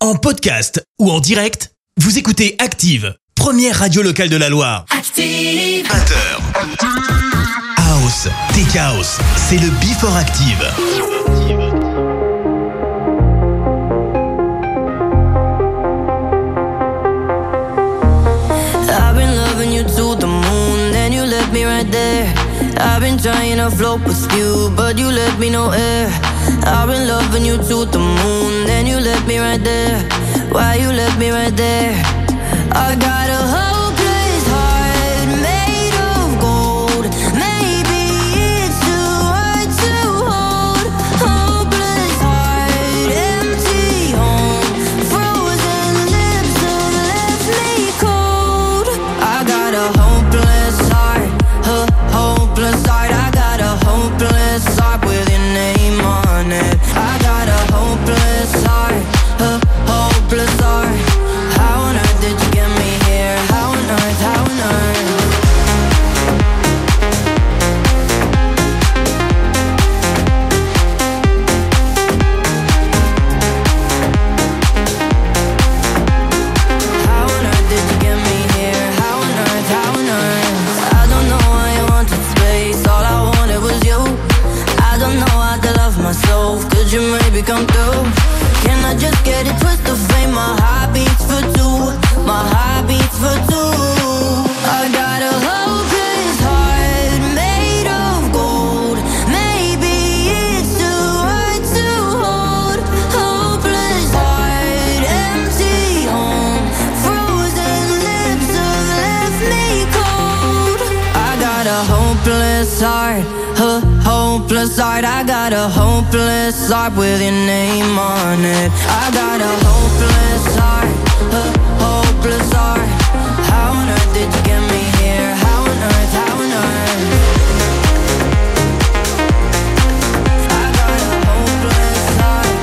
En podcast ou en direct, vous écoutez Active, première radio locale de la Loire. Active. 20h. House, Tech House, c'est le Before Active. I've been loving you to the moon, then you left me right there. I've been trying to float with you, but you left me no air. I've been loving you to the moon, then you left me right there. Why you left me right there? I got a hopeless heart made of gold. Maybe it's too hard to hold. Hopeless heart, empty home. Frozen lips have left me cold. I got a hopeless heart, hopeless heart. I got a hopeless heart with your name on it. I got a hopeless heart, hopeless heart. How on earth did you get me here? How on earth, how on earth? How on earth did you get me here? How on earth, how on earth? I don't know why you wanted space, all I wanted was you. I don't know how to love myself, could you maybe come through? Can I just get it twisted of fame? My heart beats for two, my heart beats for two. I got a hopeless heart made of gold. Maybe it's too hard to hold. Hopeless heart, empty home. Frozen lips have left me cold. I got a hopeless heart, hopeless heart. I got a hopeless heart with your name on it. I got a hopeless heart, hopeless heart. How on earth did you get me here? How on earth, how on earth? I got a hopeless heart.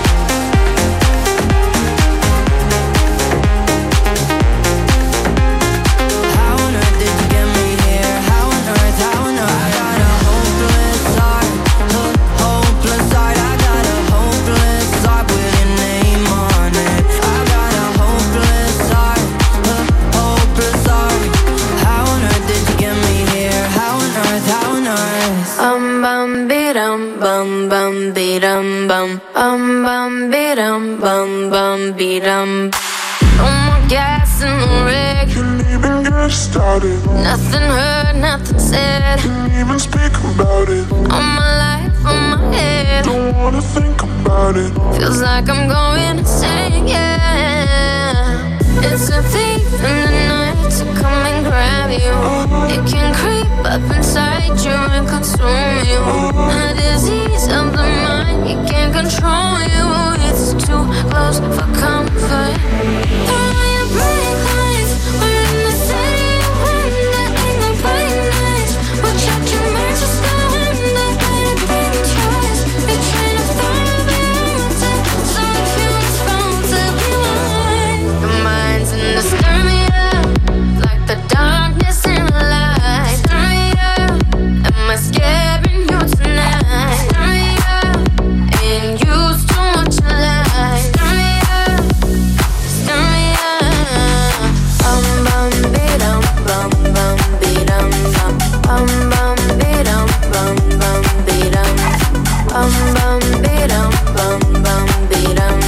How on earth did you get me here? How on earth, how on earth? I got a hopeless heart, hopeless heart. I got a hopeless heart with your name on it. I got a hopeless heart, hopeless heart. How on earth did you get me here? How on earth, how on earth? Bum bidum bum bidum bum bidum bum bidum. No more gas in the rig. Can't even get started. Nothing heard, nothing said. Can't even speak about it. All my life on my head. Don't wanna think about it. Feels like I'm going insane, yeah. It's a thief in the night to come and grab you. It can creep up inside you and consume you. A disease of the mind, it can't control you. It's too close for comfort. Throw all your bright lights, we're in the city of wonder. Ain't no bright nights, we'll check your merch, just go under. Ain't a big choice, we're trying to follow the answer. So if you respond to be mine, your mind's in the stir me up, like the darkness in the light. Stir me up, am I scaring you tonight? Stir me up, ain't used to what you like. Stir me up, stir me up. Bum bidum bum bidum bum bidum bum bidum. Bum bidum bum bidum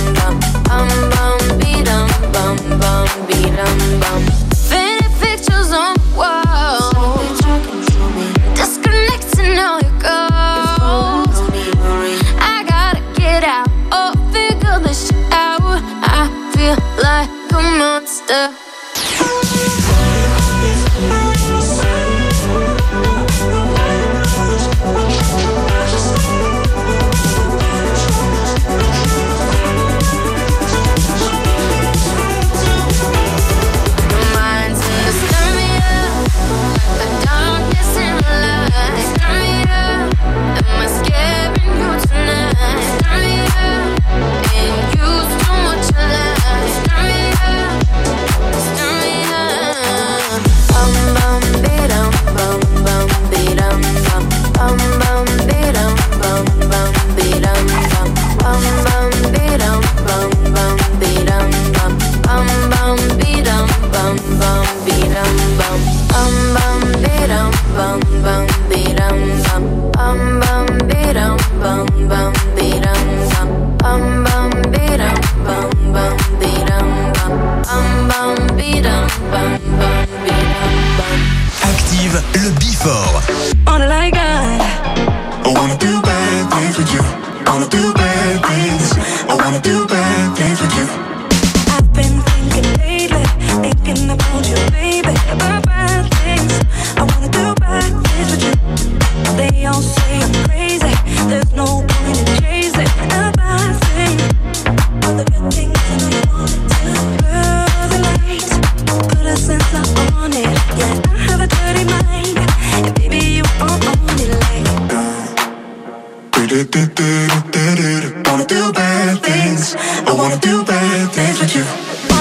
bum bidum bum. Faded pictures on the wall, disconnecting all your goals. I gotta get out, oh, figure this shit out. I feel like a monster. Your mind's in the stir me up, like the darkness in the light. Stir me up, am I scaring you tonight? Stir me up, ain't used to what you like. Stir me up,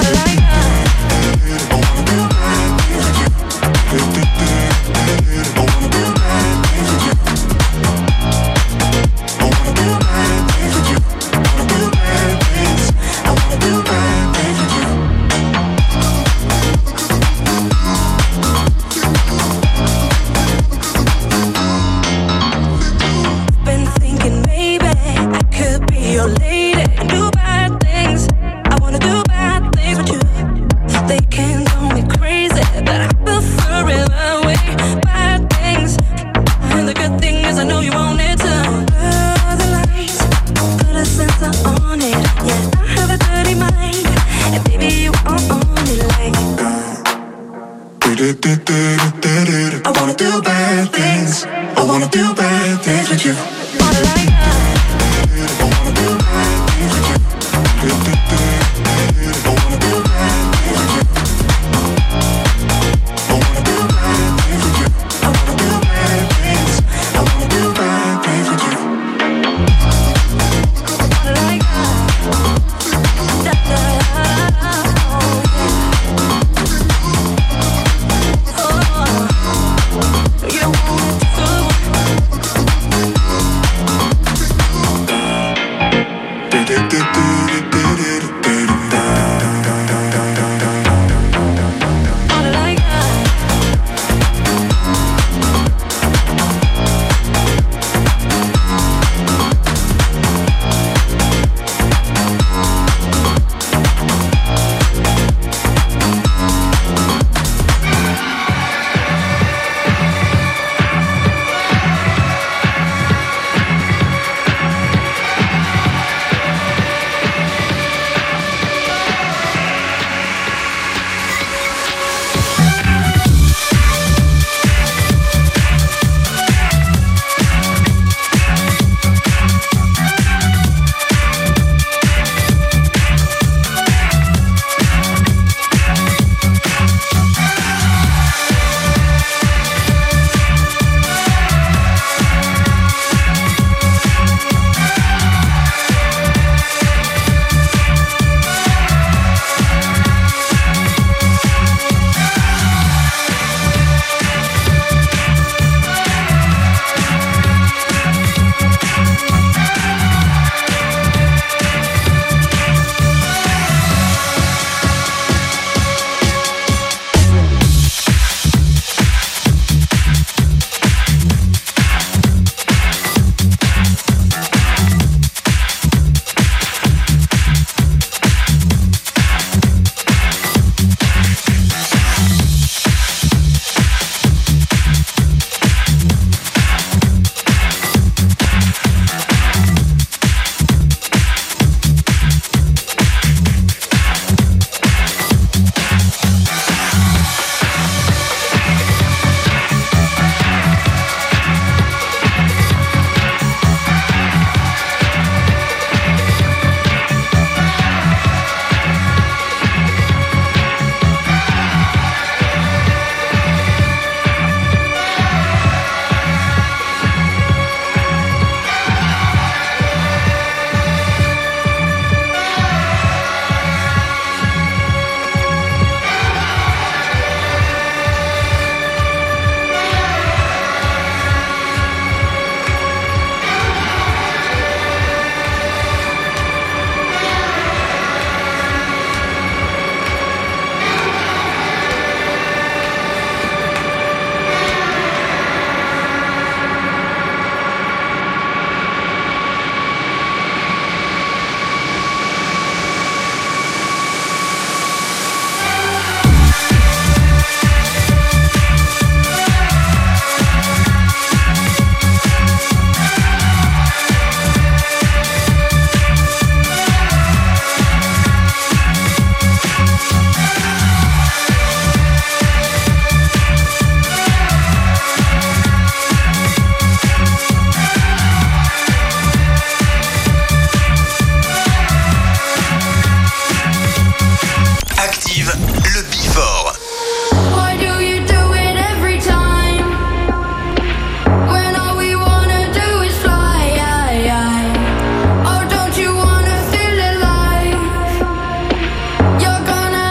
You're gonna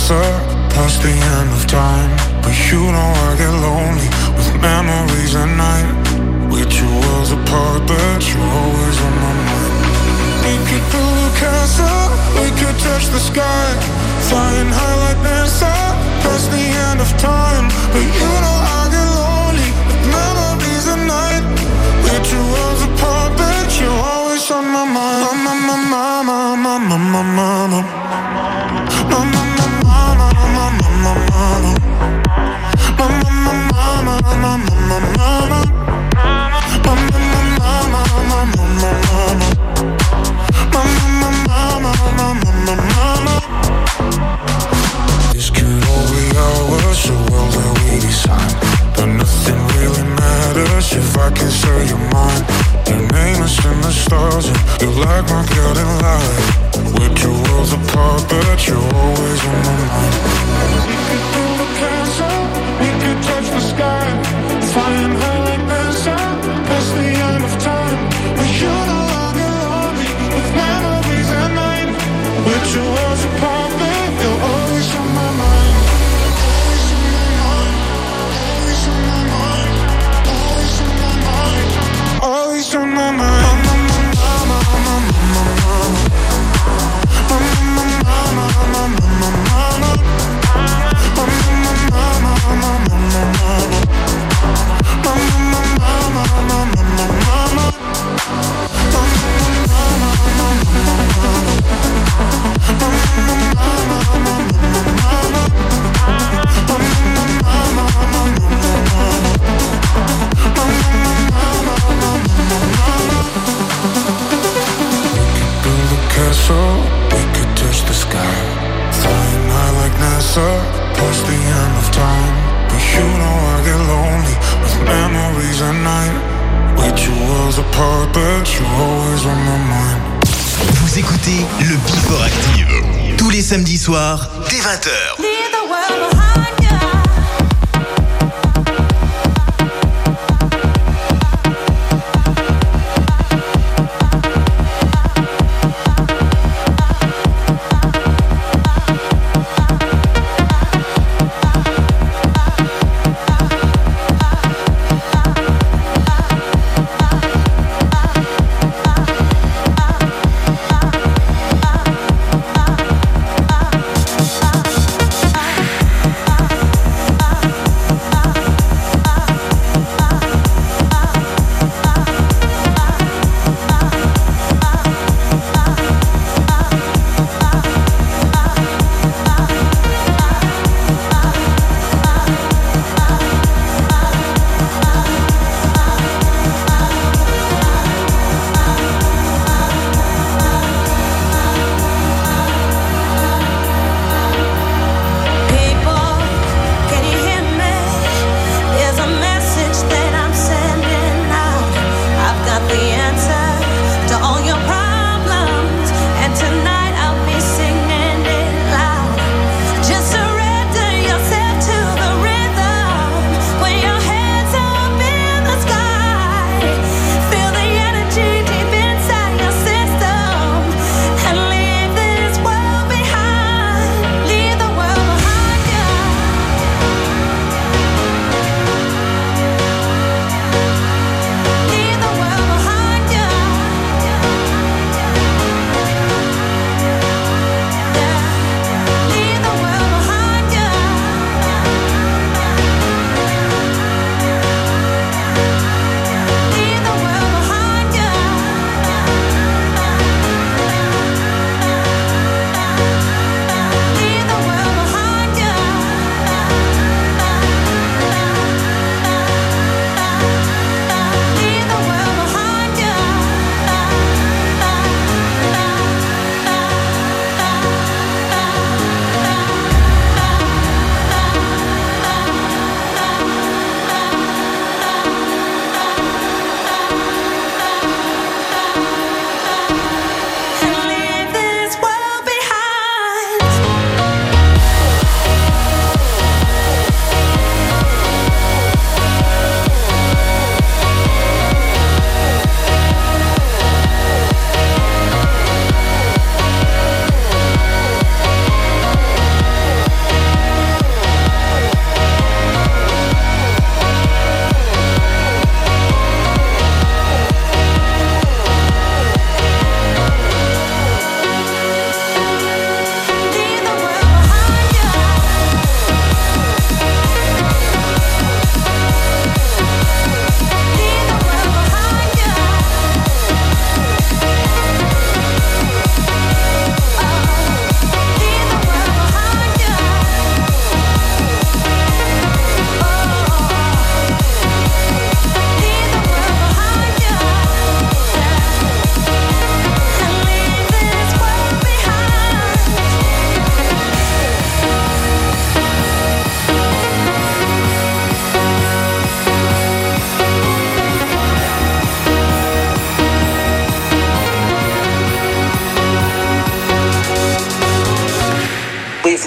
NASA, past the end of time. But you know I get lonely with memories at night. We're 2 worlds apart, but you're always on my mind. We could build a castle, we could touch the sky, flying high like NASA, past the end of time. But you know I get lonely with memories at night. We're 2 worlds apart, but you're always on my mind. Mama, mama, mama, mama, mama. Mama, mama, mama, mama, mama. Mama, mama, mama, mama, mama. Mama, mama, mama, mama, mama. Mama, mama, mama, mama, mama. This could all be ours, a world that we design. But nothing really matters if I can say you're mine. Your name is in the stars and you're like my guiding light. We're 2 worlds apart, but you're always on my mind. We could build a castle, we could touch the sky, flying high like NASA, past the end of time. But you know I get lonely with memories at night. We're 2 worlds apart, but you're always on my mind. Always on my mind. Always on my mind. Always on my mind. Always on my mind. Mama, mama, mama, mama. Mama, mama, mama, mama, mama. Mama, mama, mama, mama, mama. Mama, mama, mama, mama, mama. We could touch the sky, flying high like NASA, past the end of time. But you know I get lonely with memories at night. We're 2 worlds apart, but you're always on my mind. Vous écoutez le Before Active tous les samedis soirs dès 20h.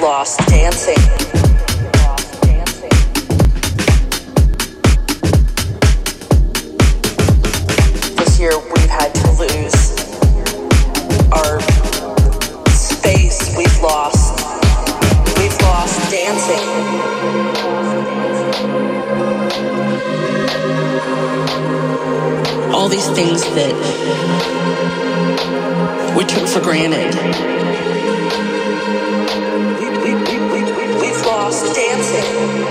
lost dancing. This year we've had to lose our space. We've lost dancing. All these things that we took for granted. We've lost dancing.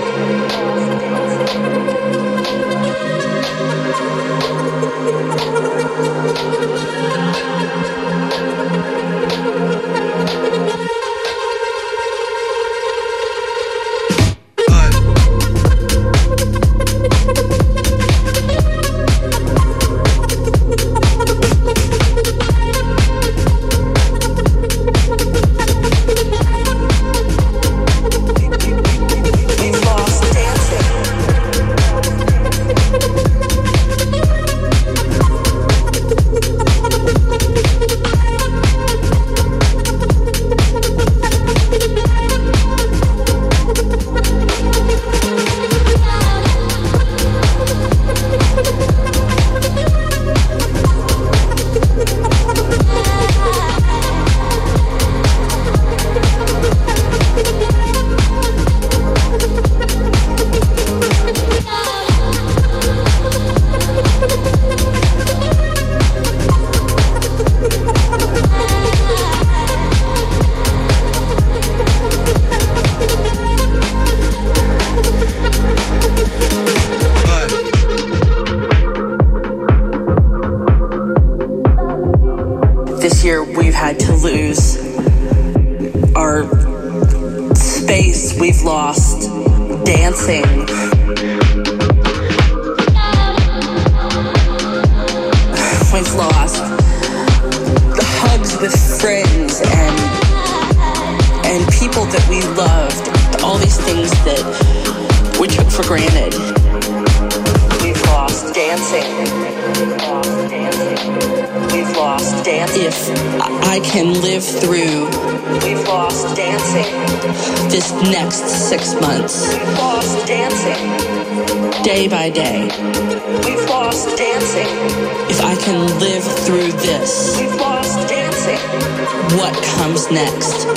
Day by day. We've lost dancing. If I can live through this, we've lost dancing. What comes next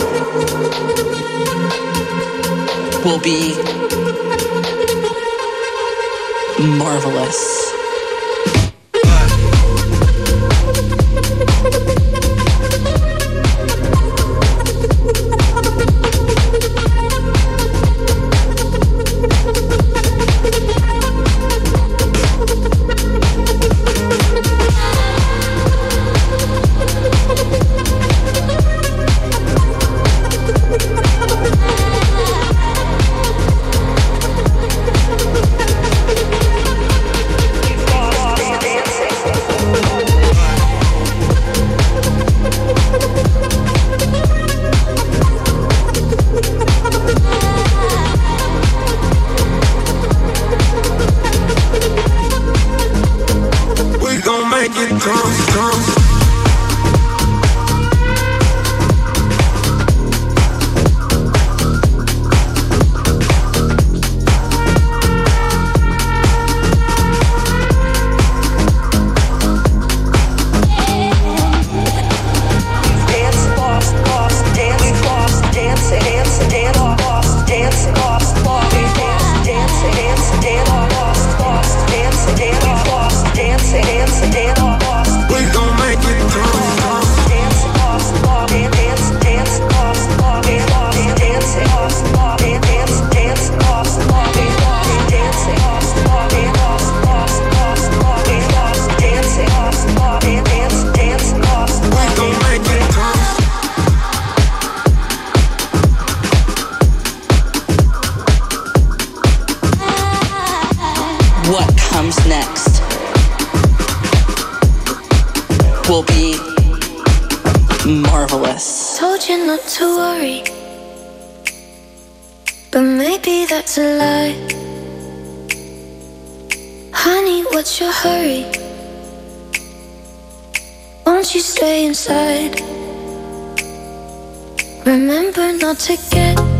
will be marvelous. Will be marvelous. Told you not to worry, but maybe that's a lie. Honey, what's your hurry? Won't you stay inside? Remember not to get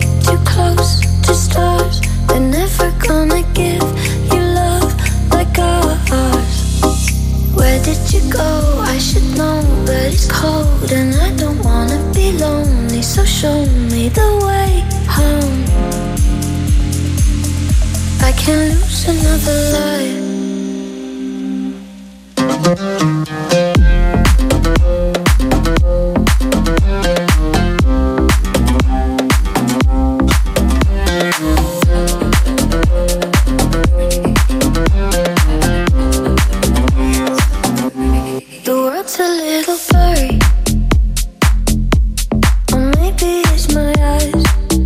close to stars. They're never gonna give you love like ours. Where did you go? I should know, but it's cold and I don't wanna be lonely. So show me the way home. I can't lose another life. The world's a little blurry, or maybe it's my eyes.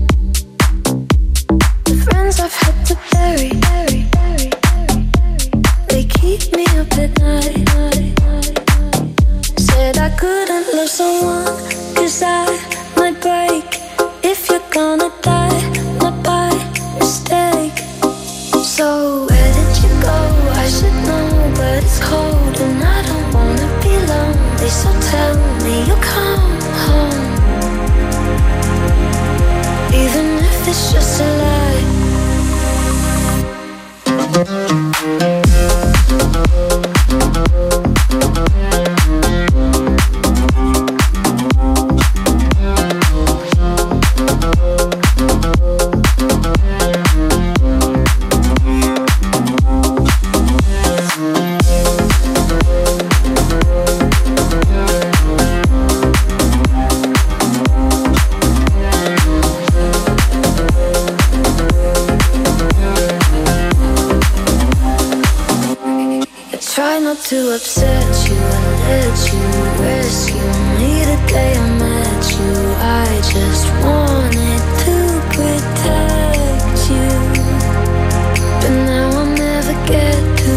The friends I've had to bury, they keep me up at night. Said I couldn't love someone, 'cause I might break. If you're gonna die, not by mistake. So where did you go? I should know, but it's cold and I don't wanna be lonely. So tell me you'll come home, even if it's just a lie. Try not to upset you and let you rescue me the day I met you. I just wanted to protect you, but now I'll never get to.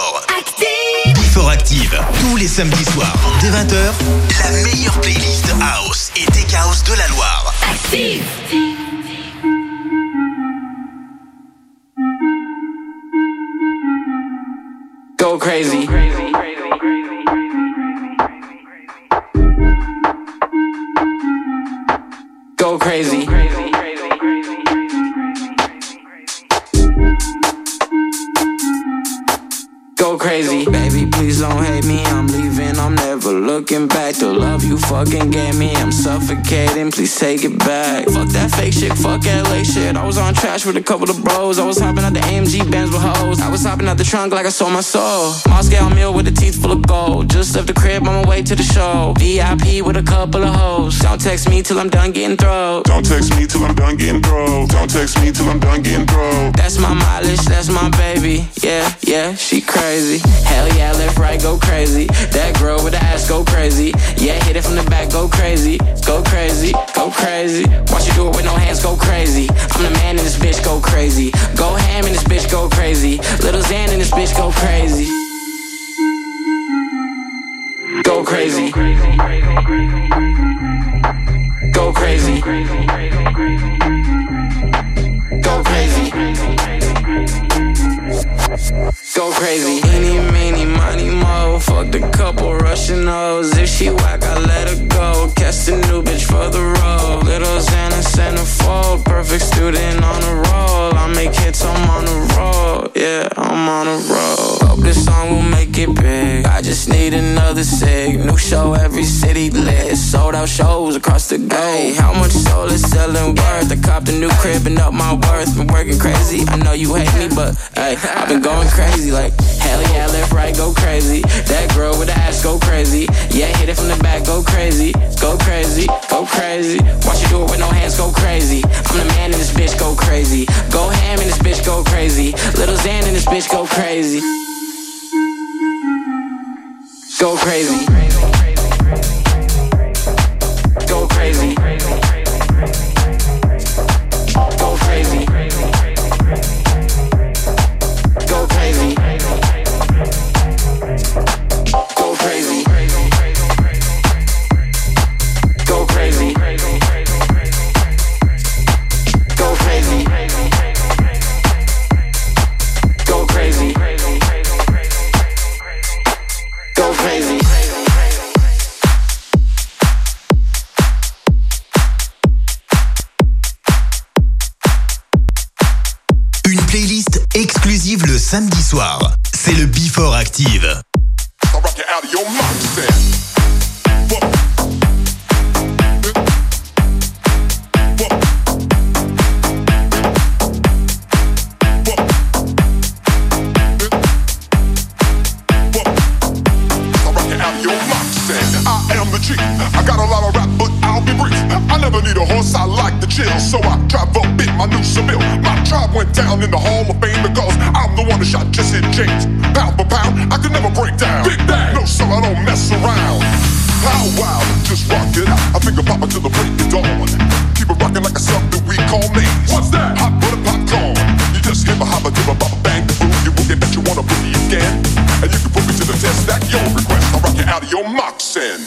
Before. Active. Before Active, tous les samedis soirs, dès 20h, la meilleure playlist House et Tech House de la Loire. Active. Go crazy. Go crazy. Go crazy. Baby, please don't hate me. I'm leaving, I'm never looking back. The love you fucking gave me, I'm suffocating. Please take it back. Fuck that fake shit, fuck LA shit. I was on trash with a couple of bros. I was hopping out the AMG Benz with hoes. I was hopping out the trunk like I sold my soul. Moscow meal with the teeth full of gold. Just left the crib on my way to the show. VIP with a couple of hoes. Don't text me till I'm done getting thrown. Don't text me till I'm done getting thrown. Don't text me till I'm done getting thrown. That's my mileage, that's my baby. Yeah, yeah, she crazy. Hell yeah, left, right, go crazy. That girl with the ass, go crazy. Yeah, hit it from the back, go crazy. Go crazy, go crazy. Watch you do it with no hands, go crazy. I'm the man in this bitch, go crazy. Go ham in this bitch, go crazy. Little Xan in this bitch, go crazy. Go crazy. Go crazy. Go crazy. Go crazy. Eeny, meeny, money, mo. Fucked a couple Russian hoes. If she whack, I let her go. Catch the new bitch for the road. Little Xana, centerfold. Perfect student on a roll. I make hits, I'm on a roll. Yeah, I'm on a roll. Hope this song will make it big. I just need another cig. New show, every city lit. Sold out shows across the globe. Hey, how much soul is selling worth? I copped a new crib and up my worth. Been working crazy. I know you hate me, but hey, I've been going crazy. Like, hell yeah, left, right, go crazy. That girl with the ass, go crazy. Yeah, hit it from the back, go crazy. Go crazy, go crazy. Watch you do it with no hands, go crazy. I'm the man in this bitch, go crazy. Go ham in this bitch, go crazy. Little Xan in this bitch, go crazy. Go crazy. Go crazy. Go crazy. Go crazy. Go crazy. Go crazy. Go crazy. Go crazy. Go crazy. Une playlist exclusive le samedi soir. C'est le Before Active. I'll rock you out of your mindset. I got a lot of rap, but I'll be brief. I never need a horse, I like to chill. So I drive up in my new Seville. My tribe went down in the Hall of Fame because I'm the one that shot Jesse James. Pound for pound, I can never break down. Big bang, no sir, I don't mess around. How wild, just rock it out. I think I'll pop it till the break of dawn. Keep it rocking like a something we call names. What's that? Hot butter popcorn. You just hit a hopper, give a bop, bang, the boom. You will get that you wanna boogie again. And you can put me to the test, that your request. I'll rock you out of your moxin.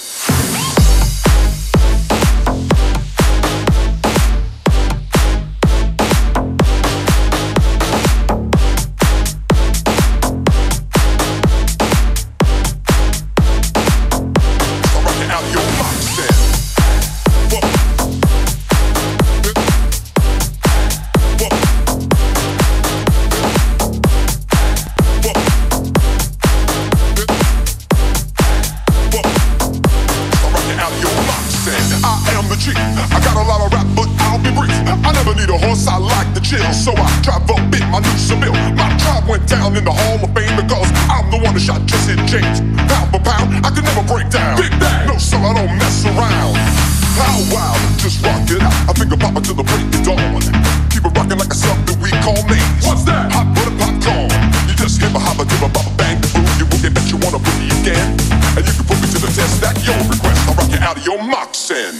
So I drive up in my new Seville. My tribe went down in the Hall of Fame because I'm the one that shot Jesse James. Pound for pound, I can never break down. Big bang, no sir, I don't mess around. How wild, just rock it out. I think I'll pop it till the break of dawn. Keep it rocking like a something we call names. What's that? Hot butter popcorn. You just hit a hopper, give a bop, bang, the boom. You will get that you wanna boogie again. And you can put me to the test, that your request. I'll rock you out of your moxin.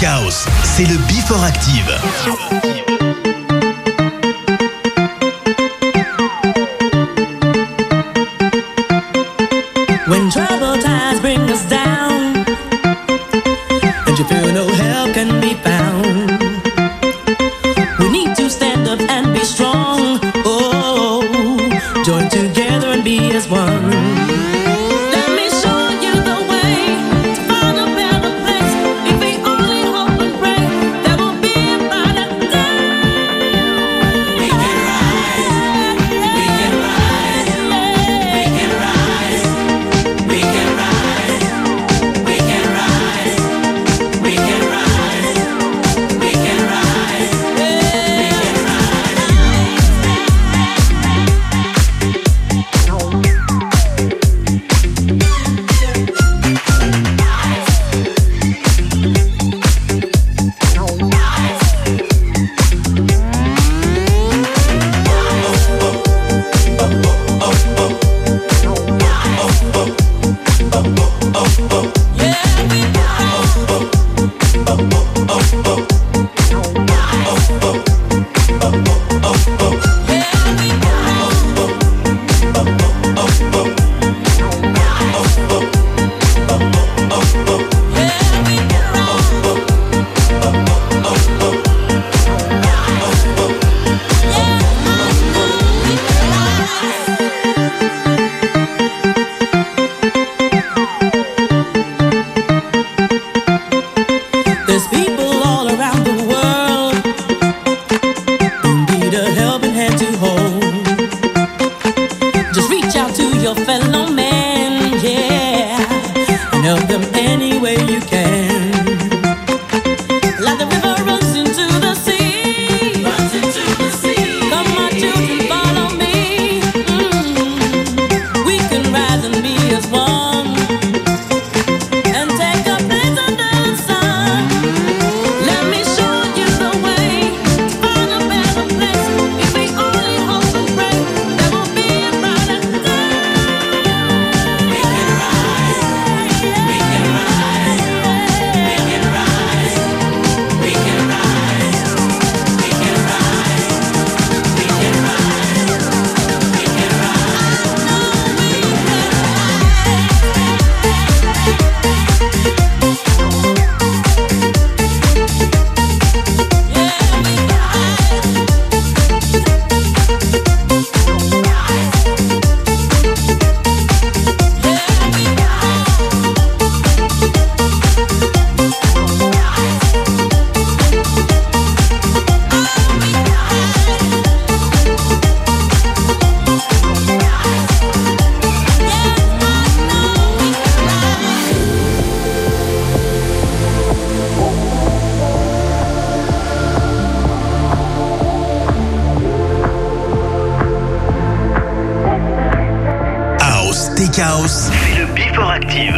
House, c'est le Before Active. When troubled times bring us down and you feel no help can be found, we need to stand up and be strong. Oh, join together and be as one. House, c'est le Before Active.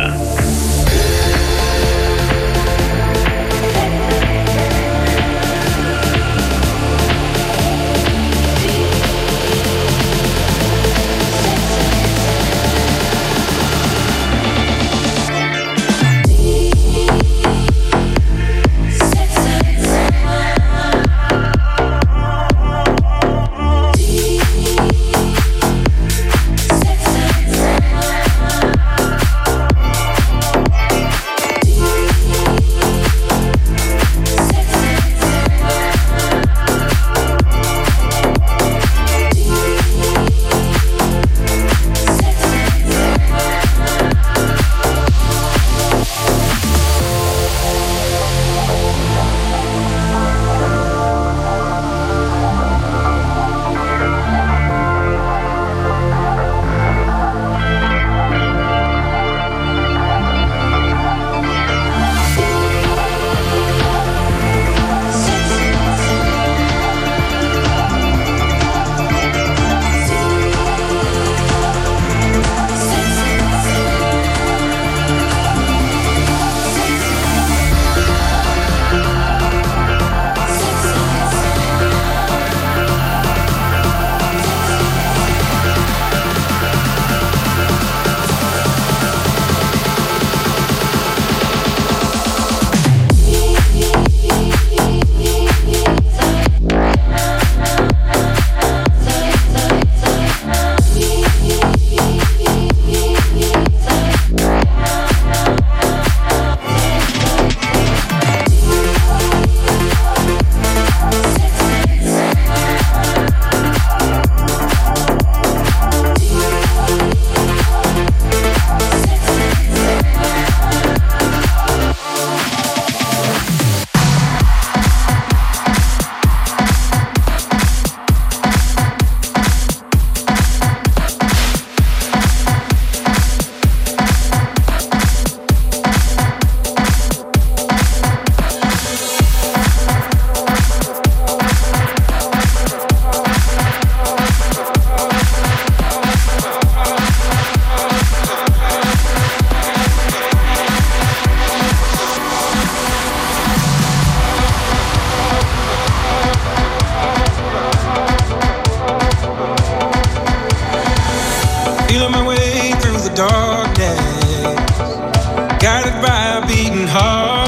guided by a beating heart.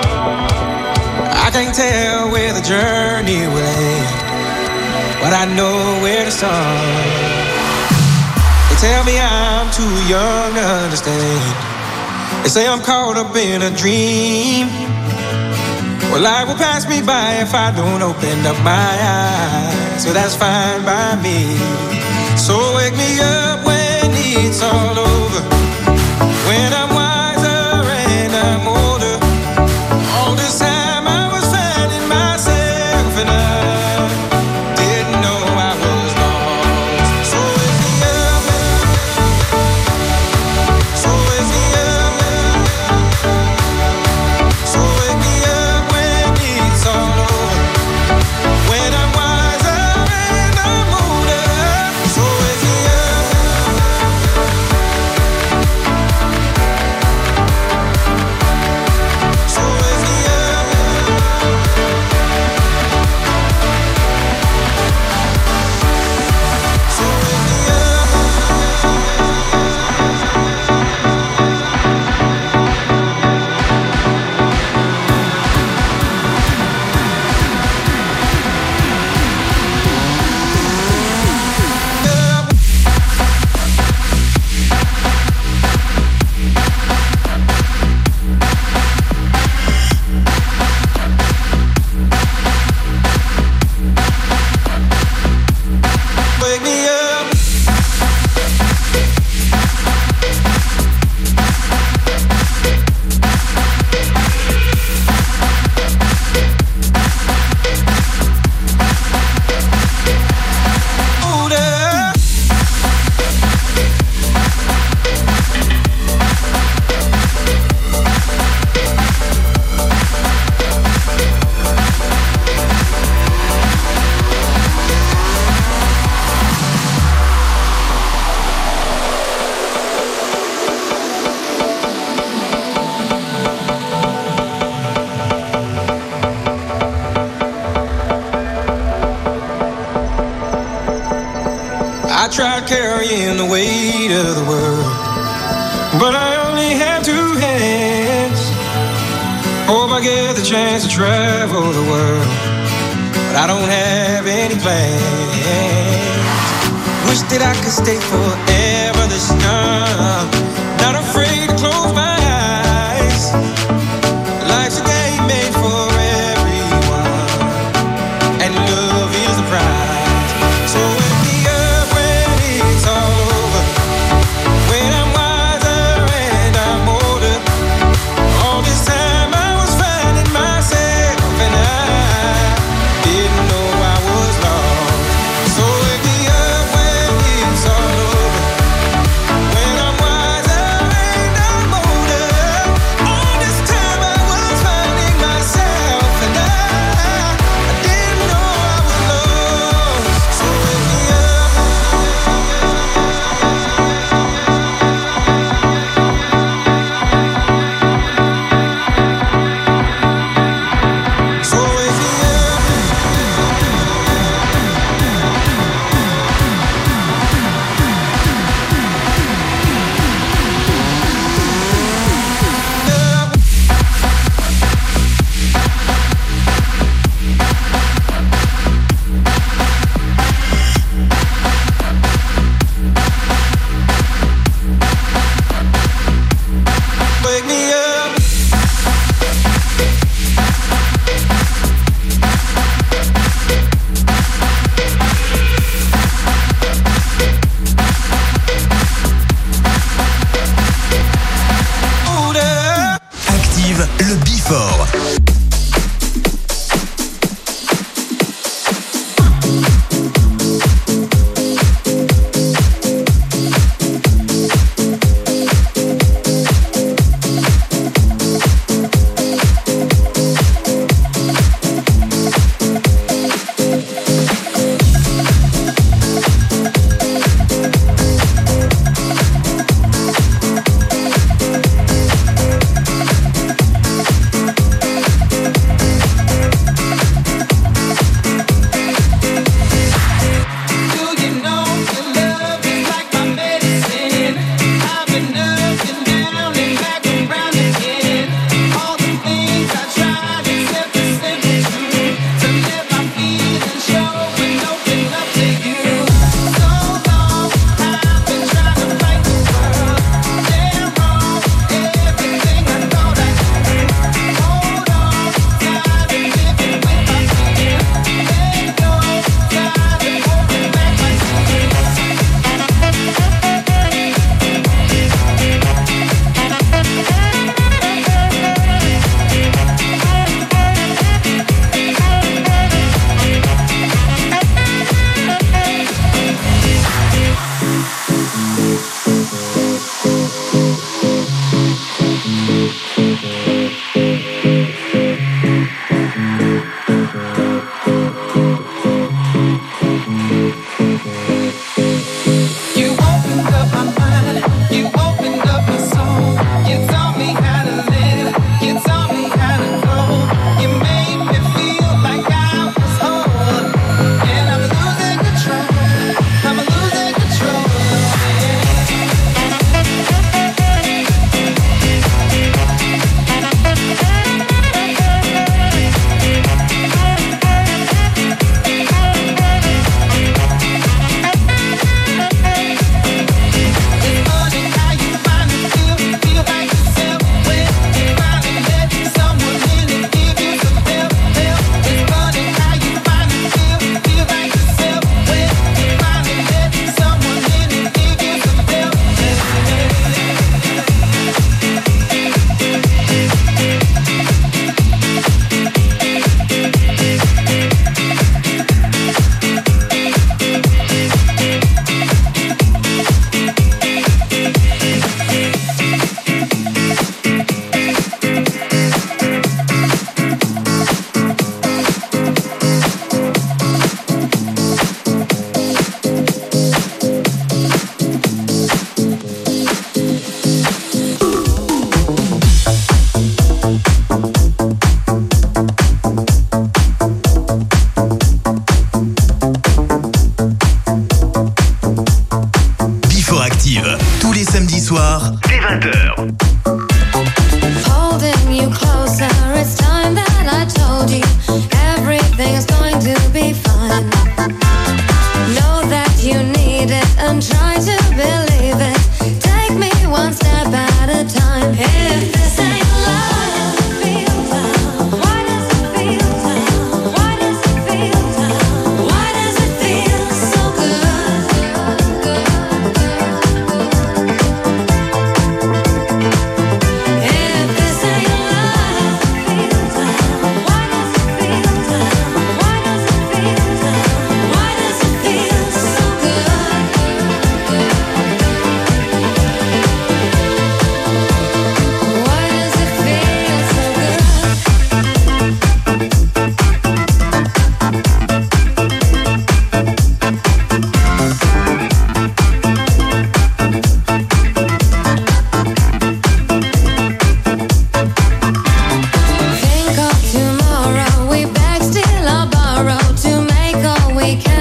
I can't tell where the journey will end, but I know where to start. They tell me I'm too young to understand. They say I'm caught up in a dream. Well, life will pass me by if I don't open up my eyes. So that's fine by me. So wake me up when it's all over, when I'm wiser and I'm older. All this time I was finding myself and I didn't know I was lost. So wake me up, so wake me up, so wake me up when it's all over, when I'm wiser and I'm older. So wake me up, so wake me up, so wake me wake me up. Older. I tried carrying the weight of the world, but I only have two hands. Hope I get the chance to travel the world, but I don't have any plans. Wish that I could stay forever this young, not afraid to close my eyes. Life's a game made for everyone, and love is the prize. So wake me up when it's all over, when I'm wiser and I'm older. All this time I was finding myself and I didn't know I was lost. So wake me up when it's all over, when I'm wiser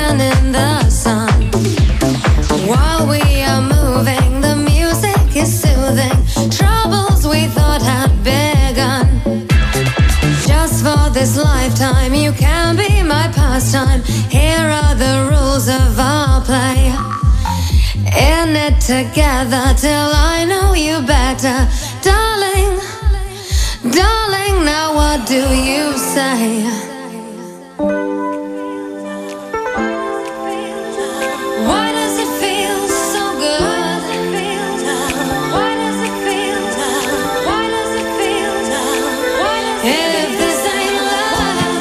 dancing in the sun. While we are moving, the music is soothing. Troubles we thought had begun. Just for this lifetime, you can be my pastime. Here are the rules of our play. In it together till I know you better. Darling, darling, now what do you say? Why does it feel so good? Why does it feel? Why does it feel? If this ain't love,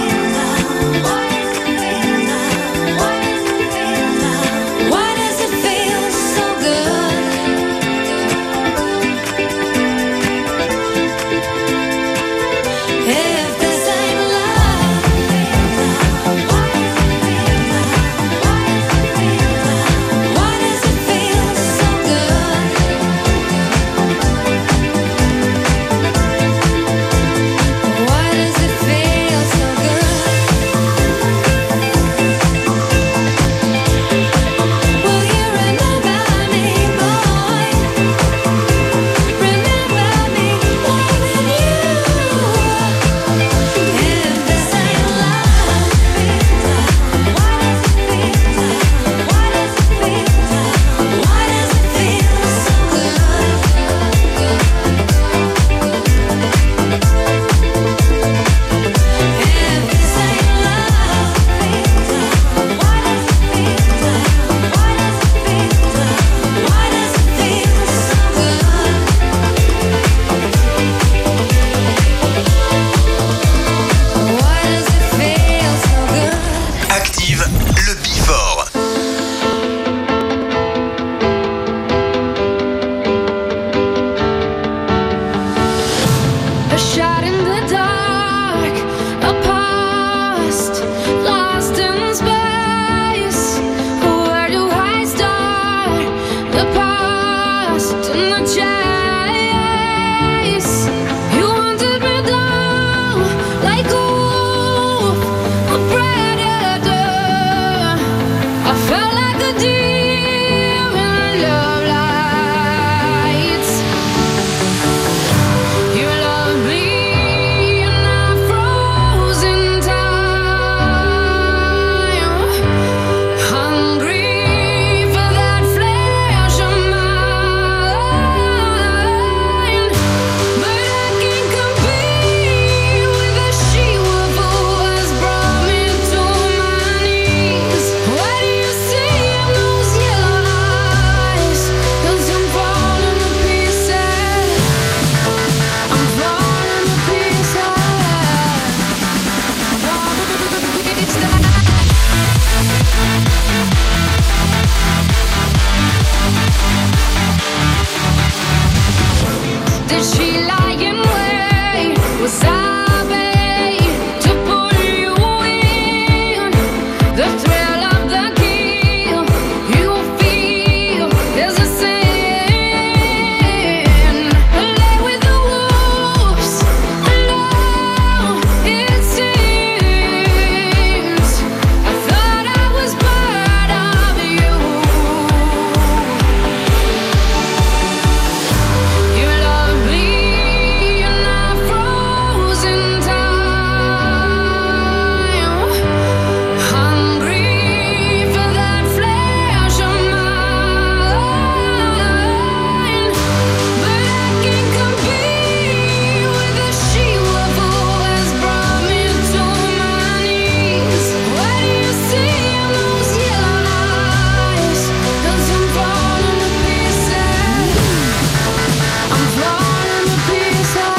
why does it feel so good? If this ain't love, why does it feel so good? Why does it feel so good? Will you remember me, boy? Remember me loving you. If this ain't love, why does it feel? Why does it feel? Why does it feel so good? If this ain't love, why does it feel? Why does it feel? Why does it feel so good? Why does it feel so good? Active le Before. A shot in the dark, a past lost in space. Where do I start? The past and the chase. You wanted me down like a wolf, a predator. I felt like a deer in love lights. You love me and I froze in time, hungry for that flesh of mine. But I can't compete with the she-wolf who has brought me to my knees. What do you see in those yellow eyes? 'Cause I'm falling to pieces. I'm falling to pieces. Did she lie in wait? Was I made to pull you in? The thrill of the kill, you feel there's a sin. Lay with the wolves, alone it seems. I thought I was part of you. You love me and I froze in time, hungry for that flesh of mine. But I can't compete with the she-wolf who has brought me to my knees. What do you see in those yellow eyes? 'Cause I'm falling to pieces. I'm falling to pieces.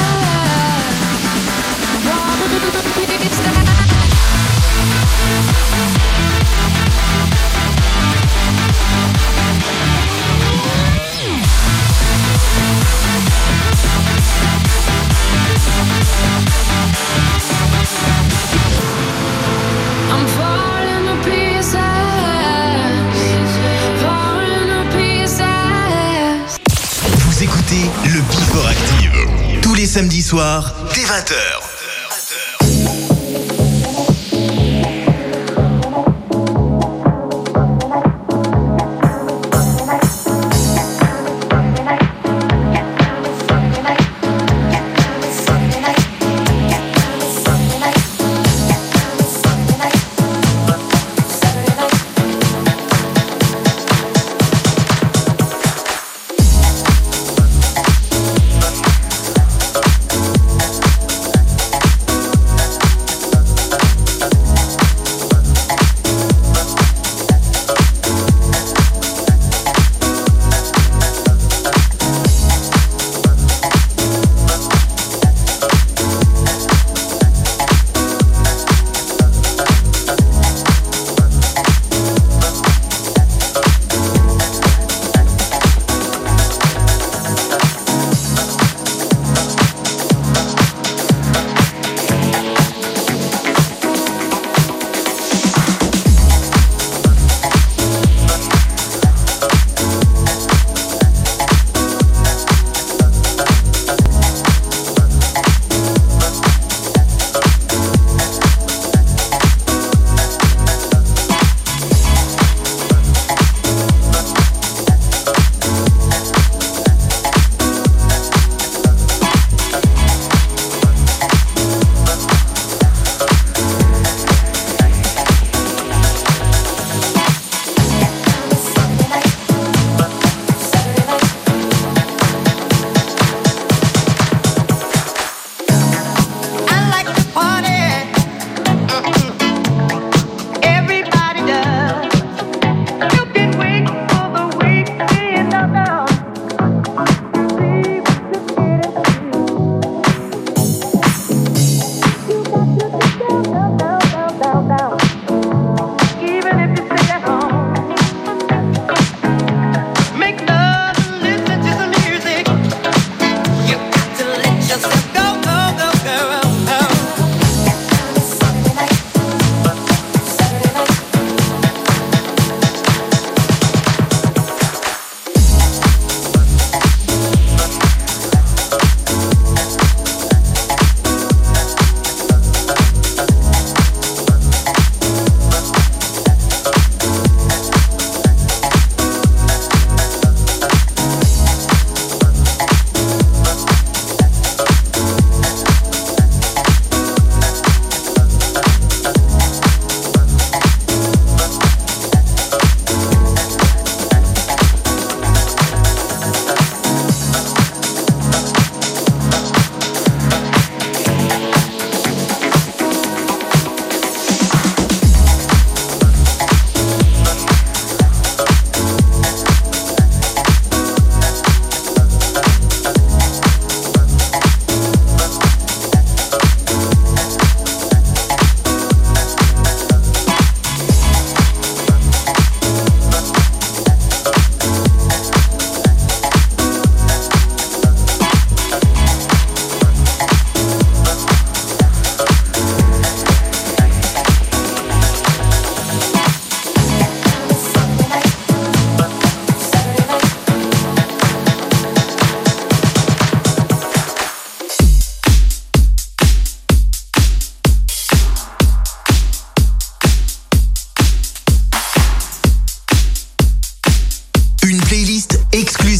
Falling to pieces. I'm falling to pieces. Falling to pieces. Vous écoutez le Before Active. Tous les samedis soirs, dès 20h.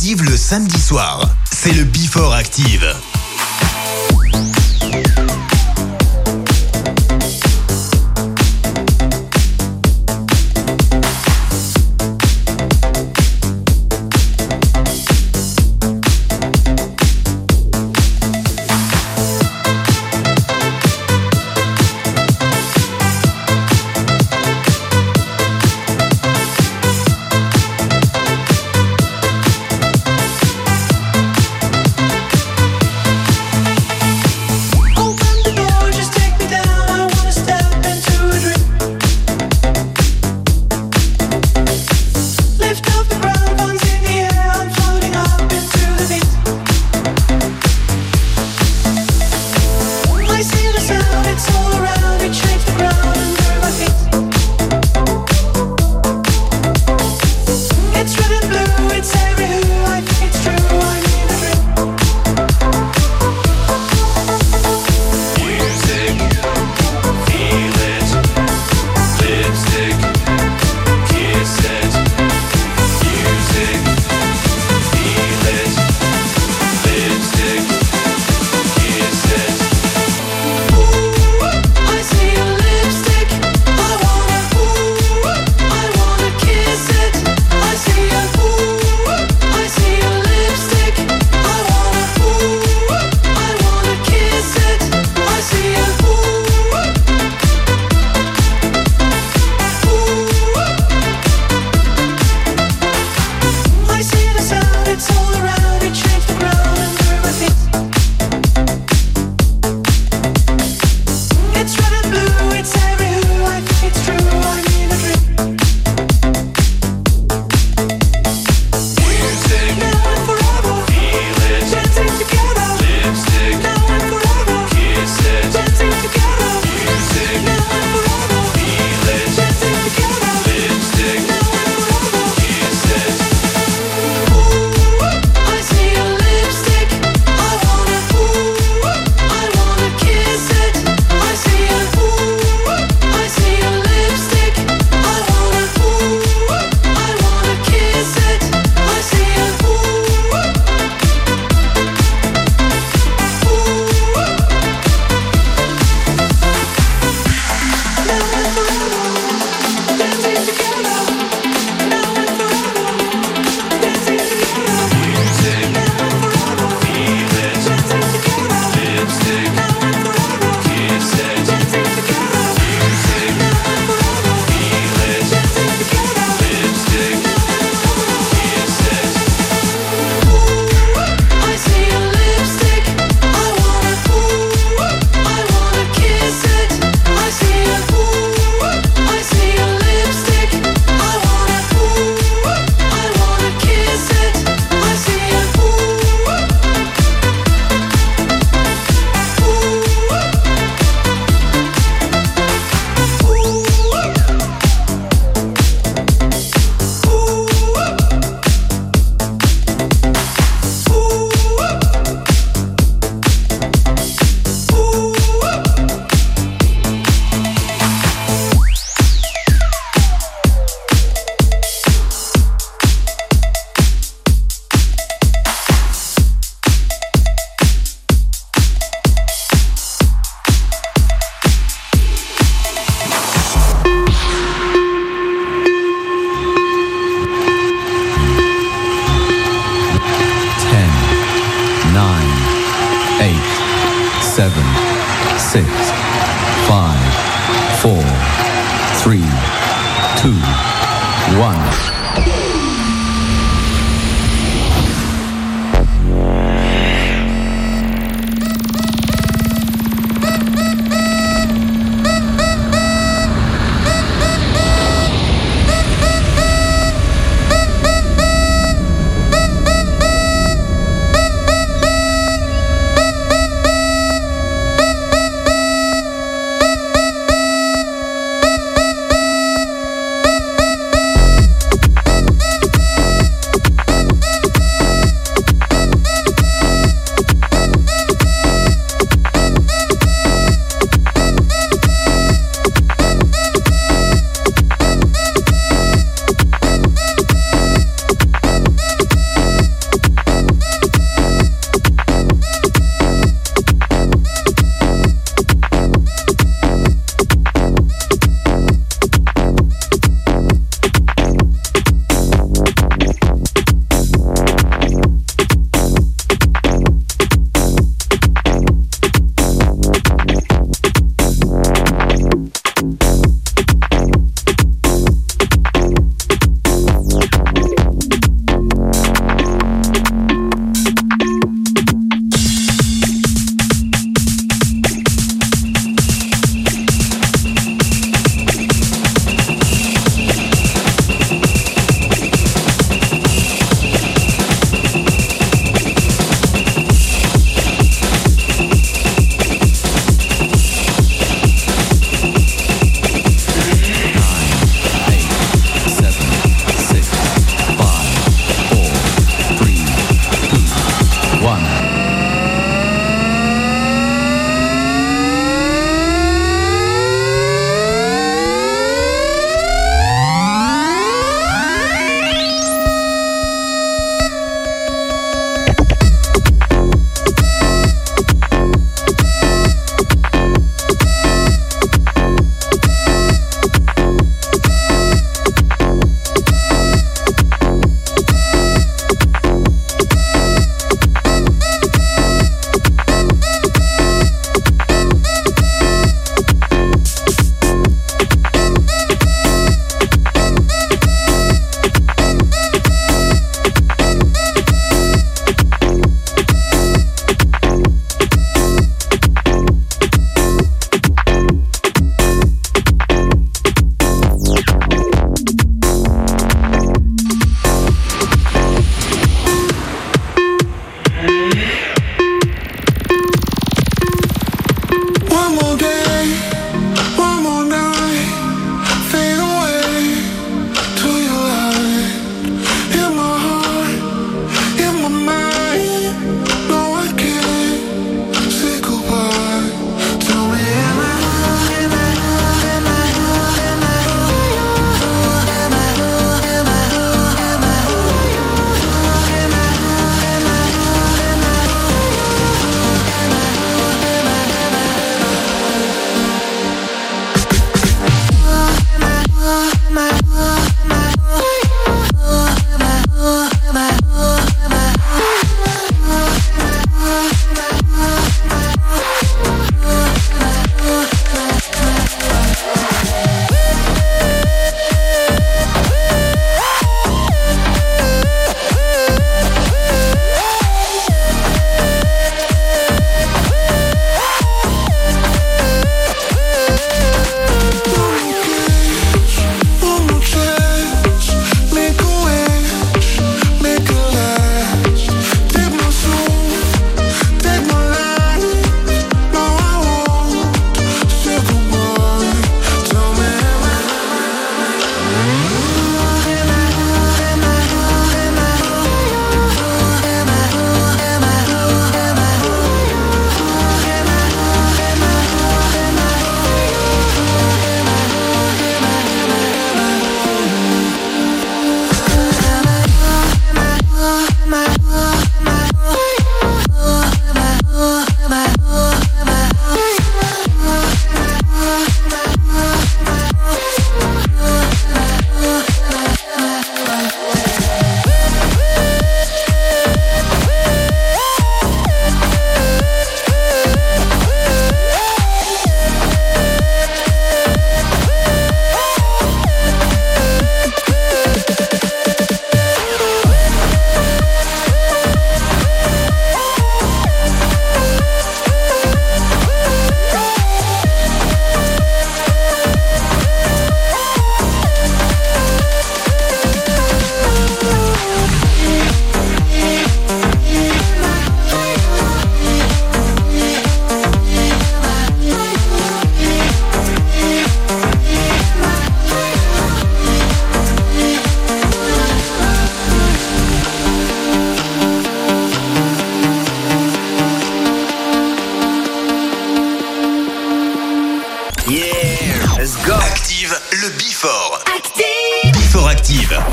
exclusive le samedi soir. C'est le Before Active.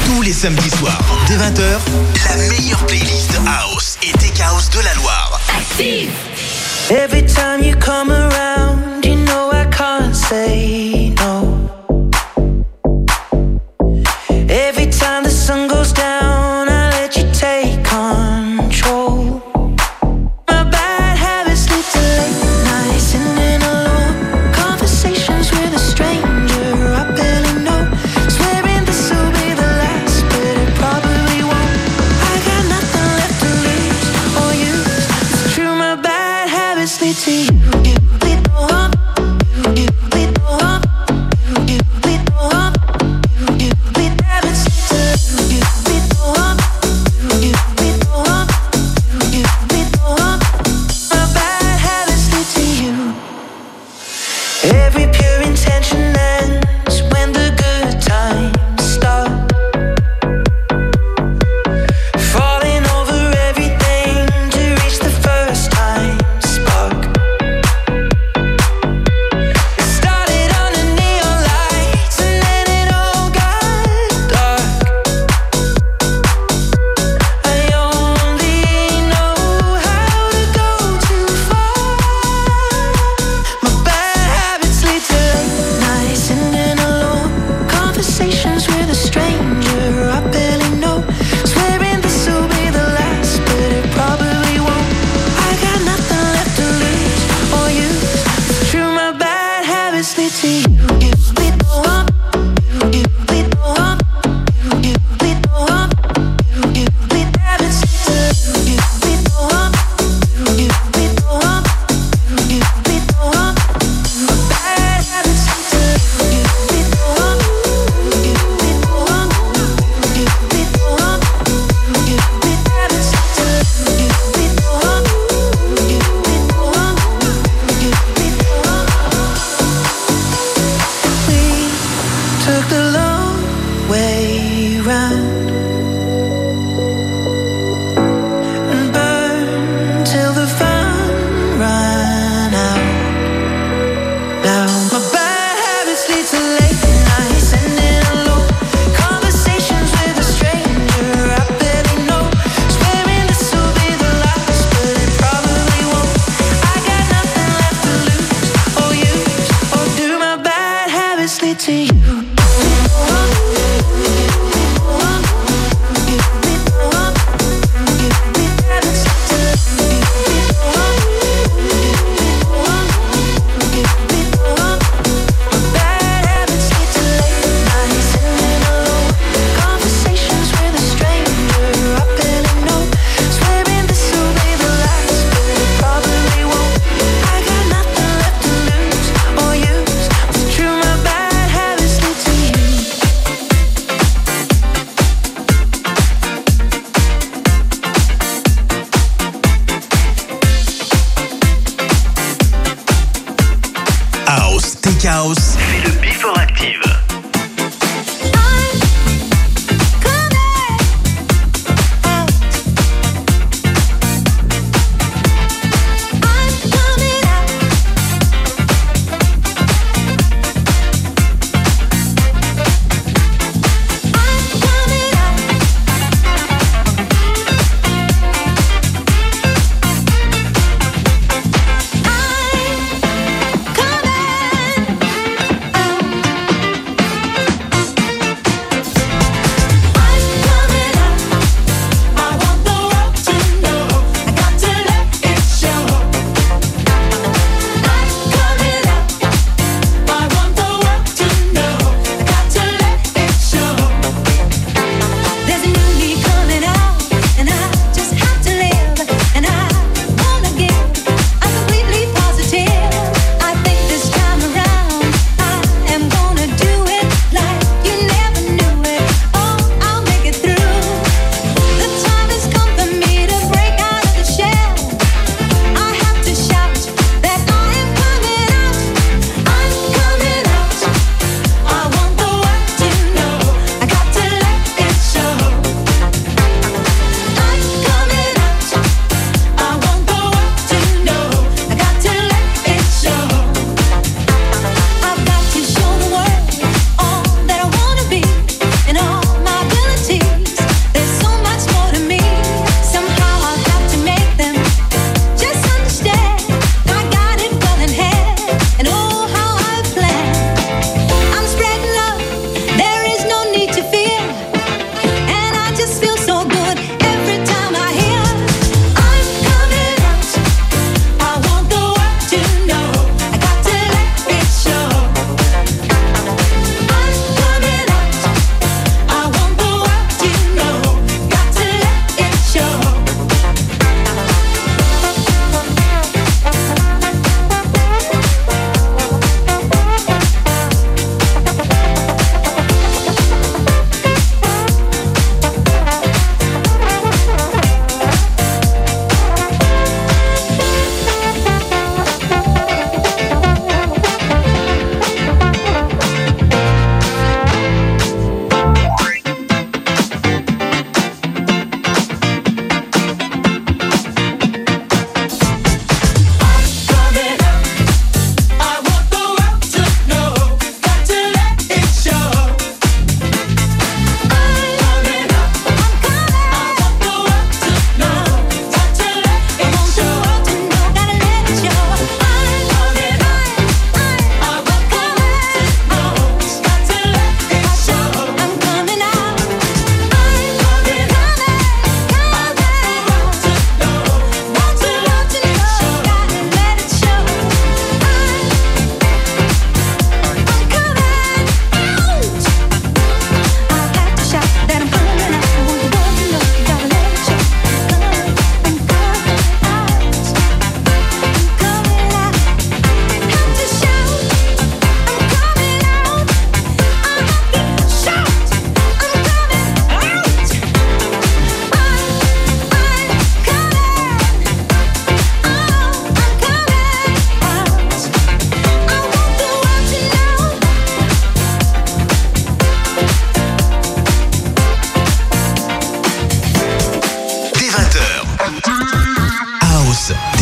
Tous les samedis soirs, dès 20h, la meilleure playlist House et Tech House de la Loire. Active. Every time you come around, you know I can't say no. Every time the sun goes down, I let you take control. My bad habits lead to late nights and then alone conversations with a stranger I barely know. Swearing this will be the last, but it probably won't. I got nothing left to lose or use. It's true, my bad habits lead to you. C'est le Before Active.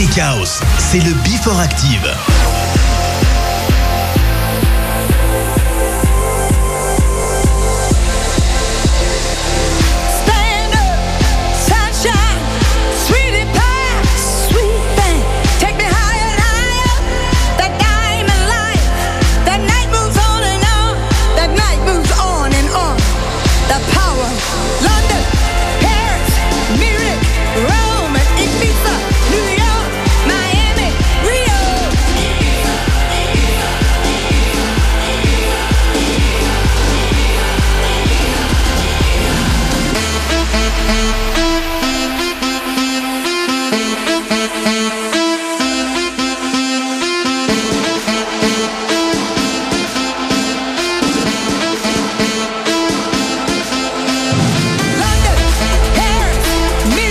Tech House, c'est le Before Active. London, Paris,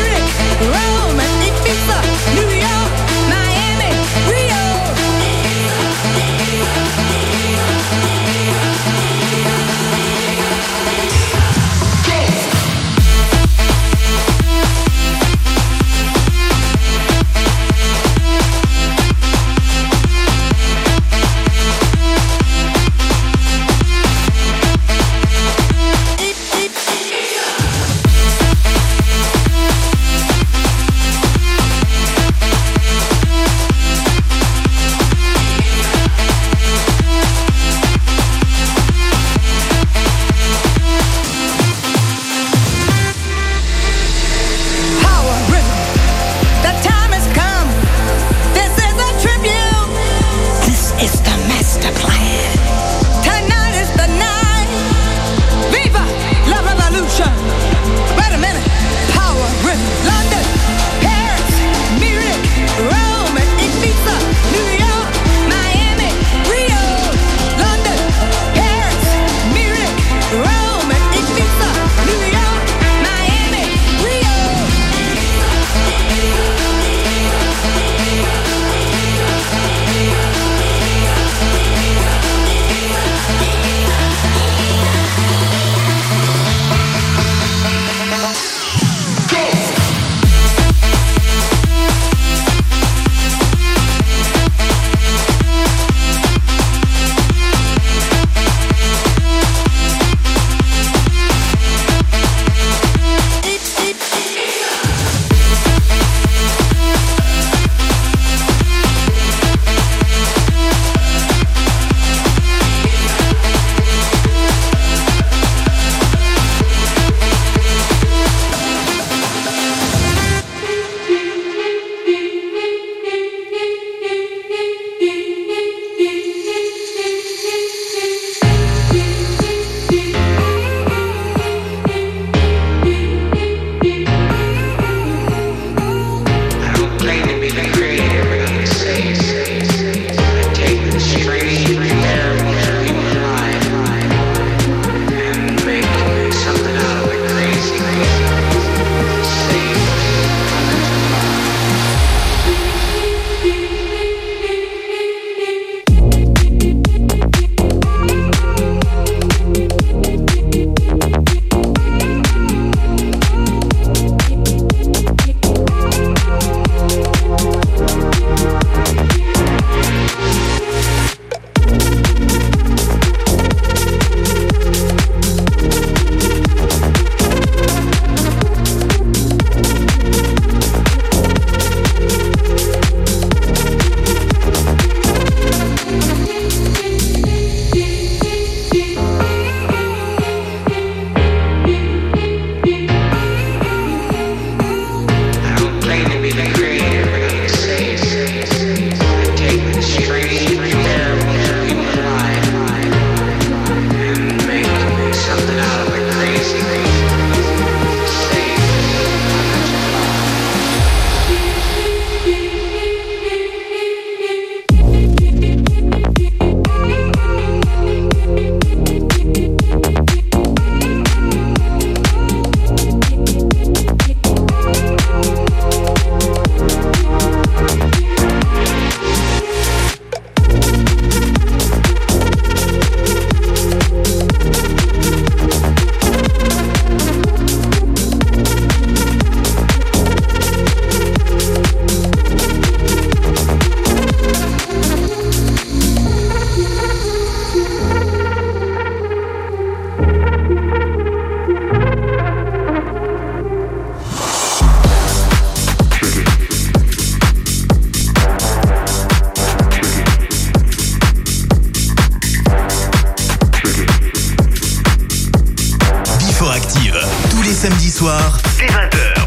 samedis soirs, dès 20h.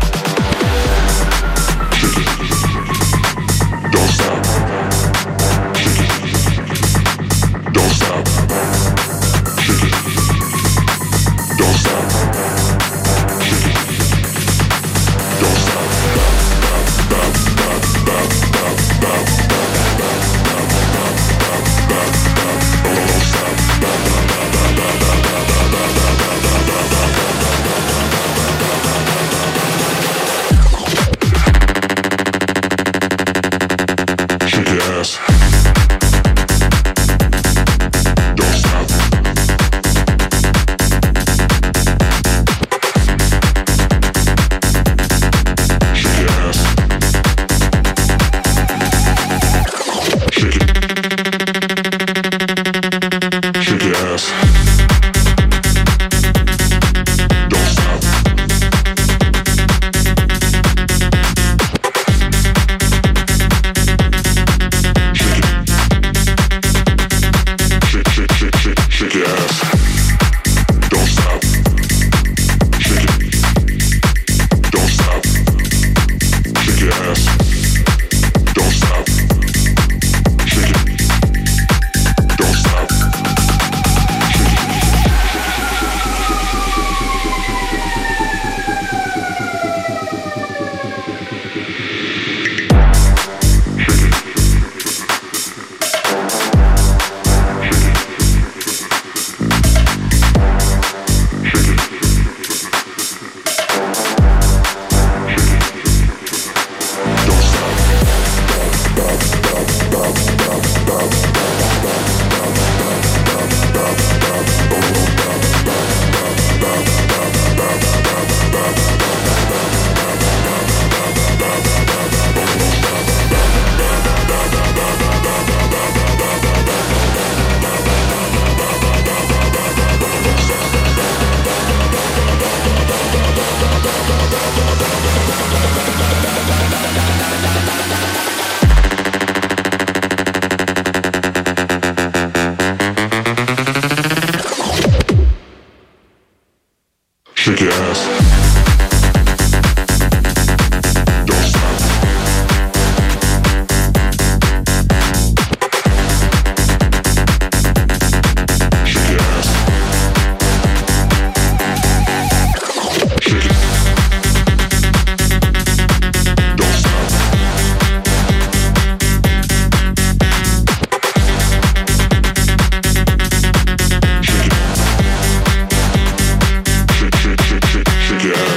Don't stop. Don't stop. Don't stop. Don't stop. Shake your ass. Don't stop. Shake your ass. Shake it. Don't stop. Shake it. Shake your ass.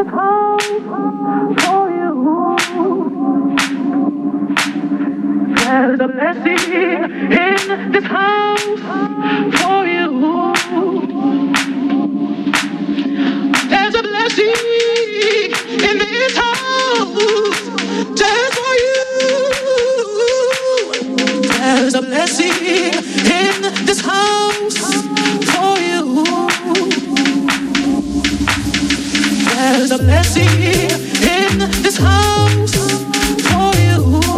this house for you. There's a blessing in this house for you. There's a blessing in this house just for you. There's a blessing in this house for you. There's a blessing in this house for you.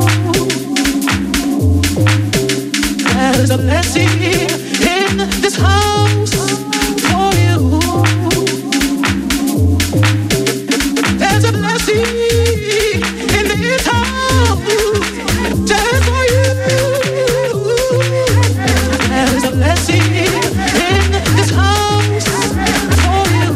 There's a blessing in this house for you. There's a blessing in this house just for you. There's a blessing in this house for you.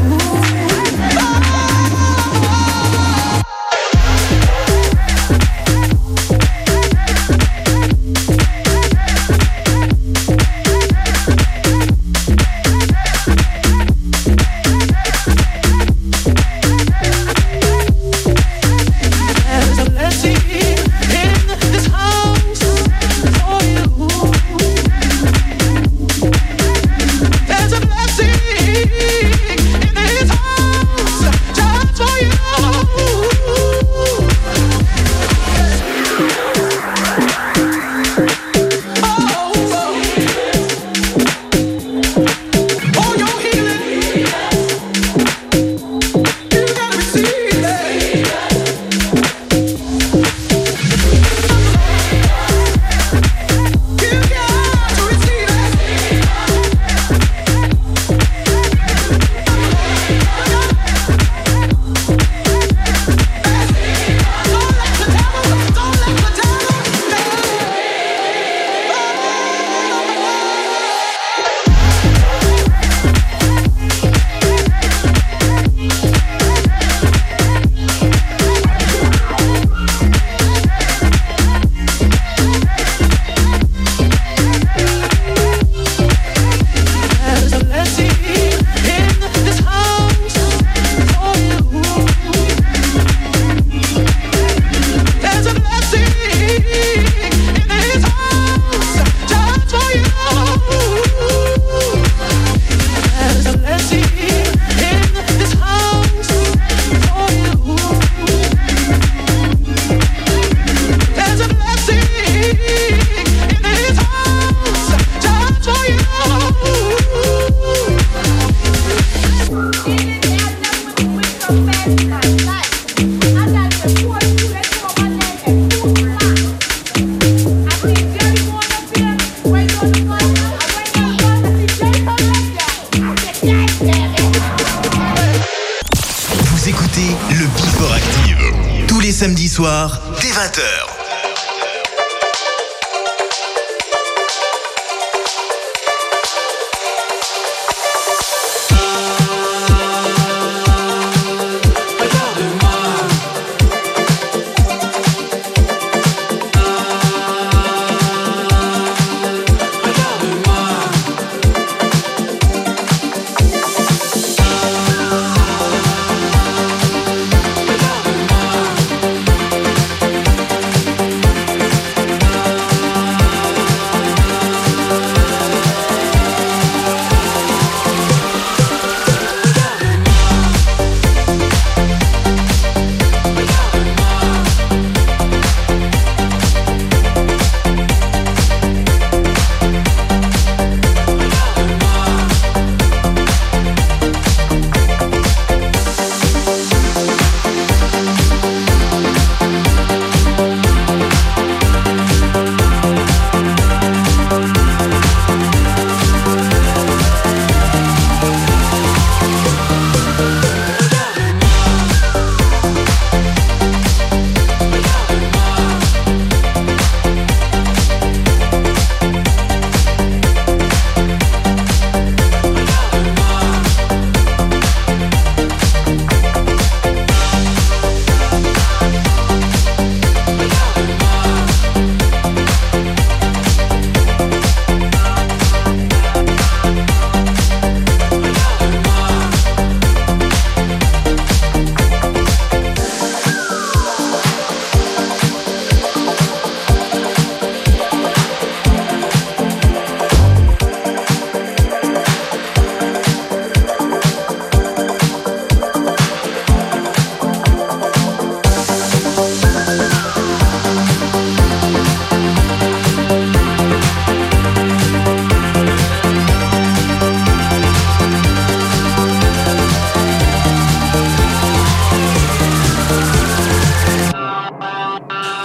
Samedi soir, dès 20h.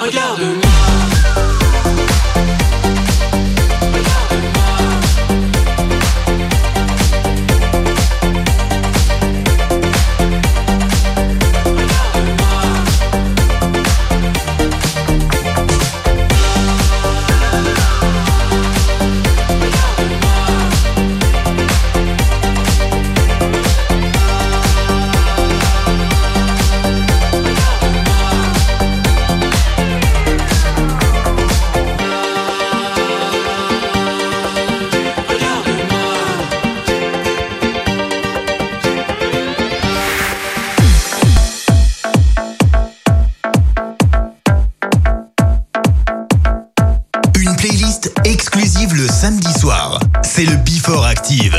Regarde-moi. Le samedi soir, c'est le Before Active.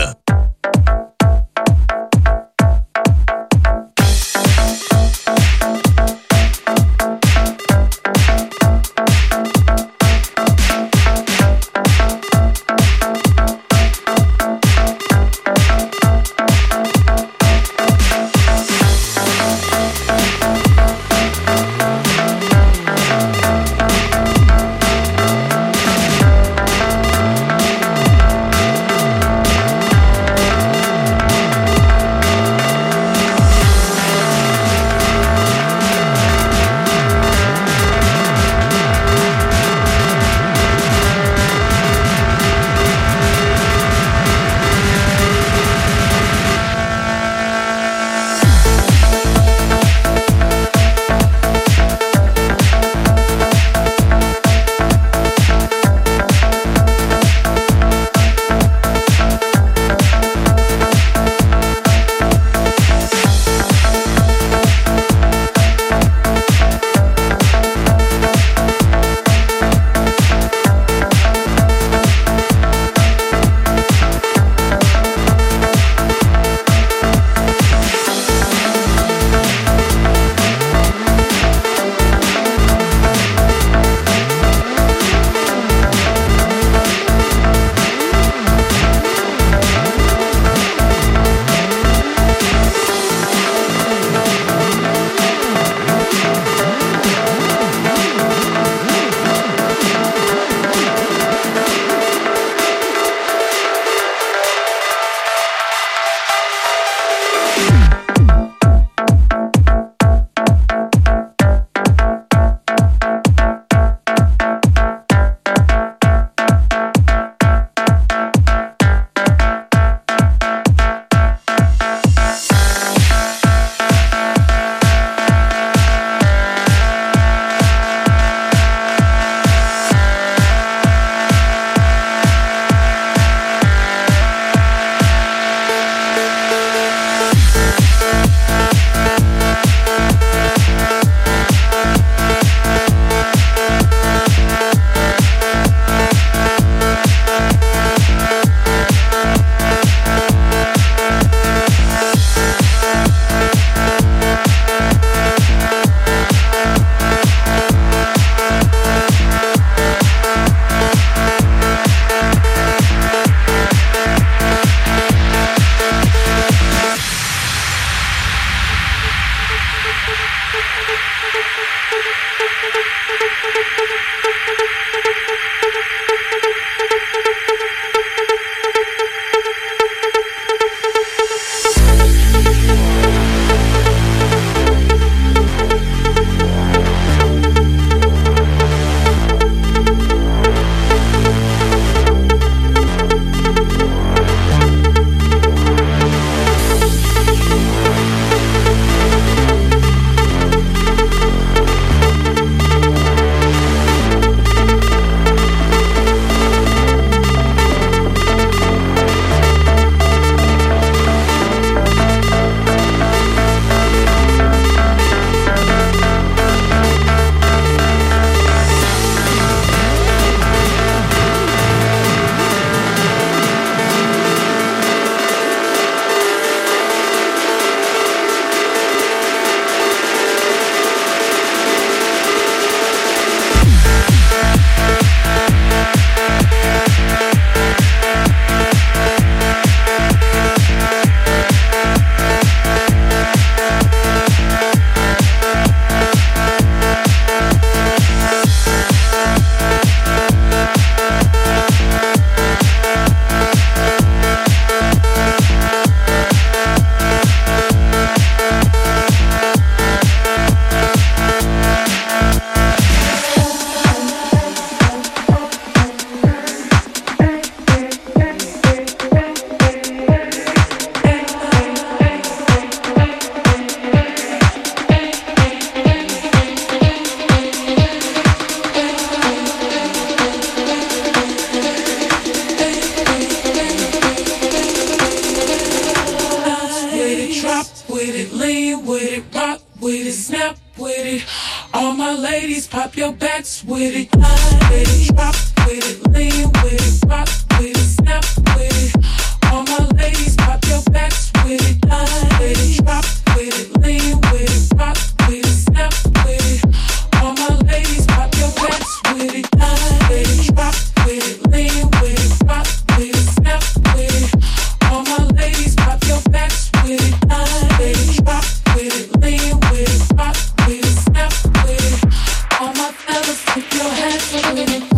snap with it. All my ladies, pop your backs with it. Line with it, pop with it, lean with it, rock with it, snap with it. All my ladies, pop your backs with it. Line with it, pop with it, lean with it, rock with it, snap with it. All my ladies, pop your backs with it. Line with it, pop with it, lean with it, rock with it, snap with it. All my ladies, pop your backs with it. Line with it, pop with it, lean with it, rock with it, snap with it. All my fellas, put your hands with it.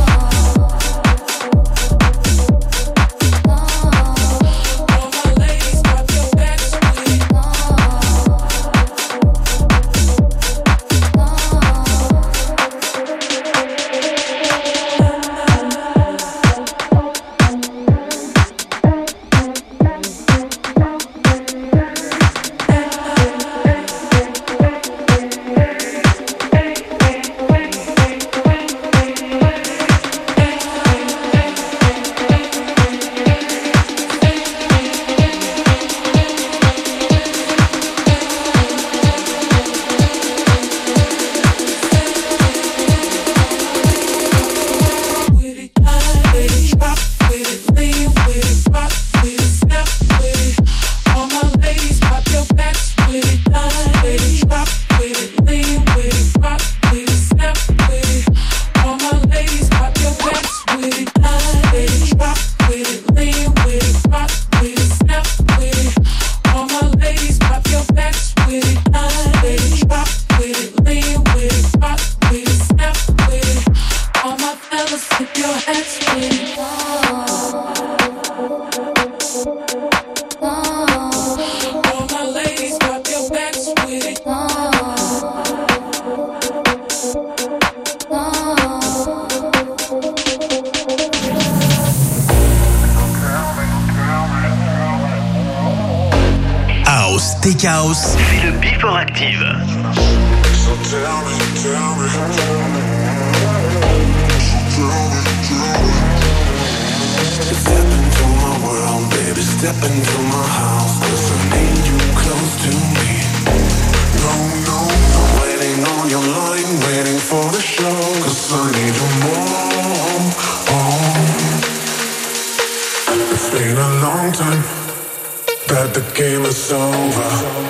Tech House, c'est le Before Active. Step into my world, baby, step into my house, 'cause I need you close to me. No, I'm waiting on your line, waiting for the show, 'cause I need you more. It's been a long time that the game is over.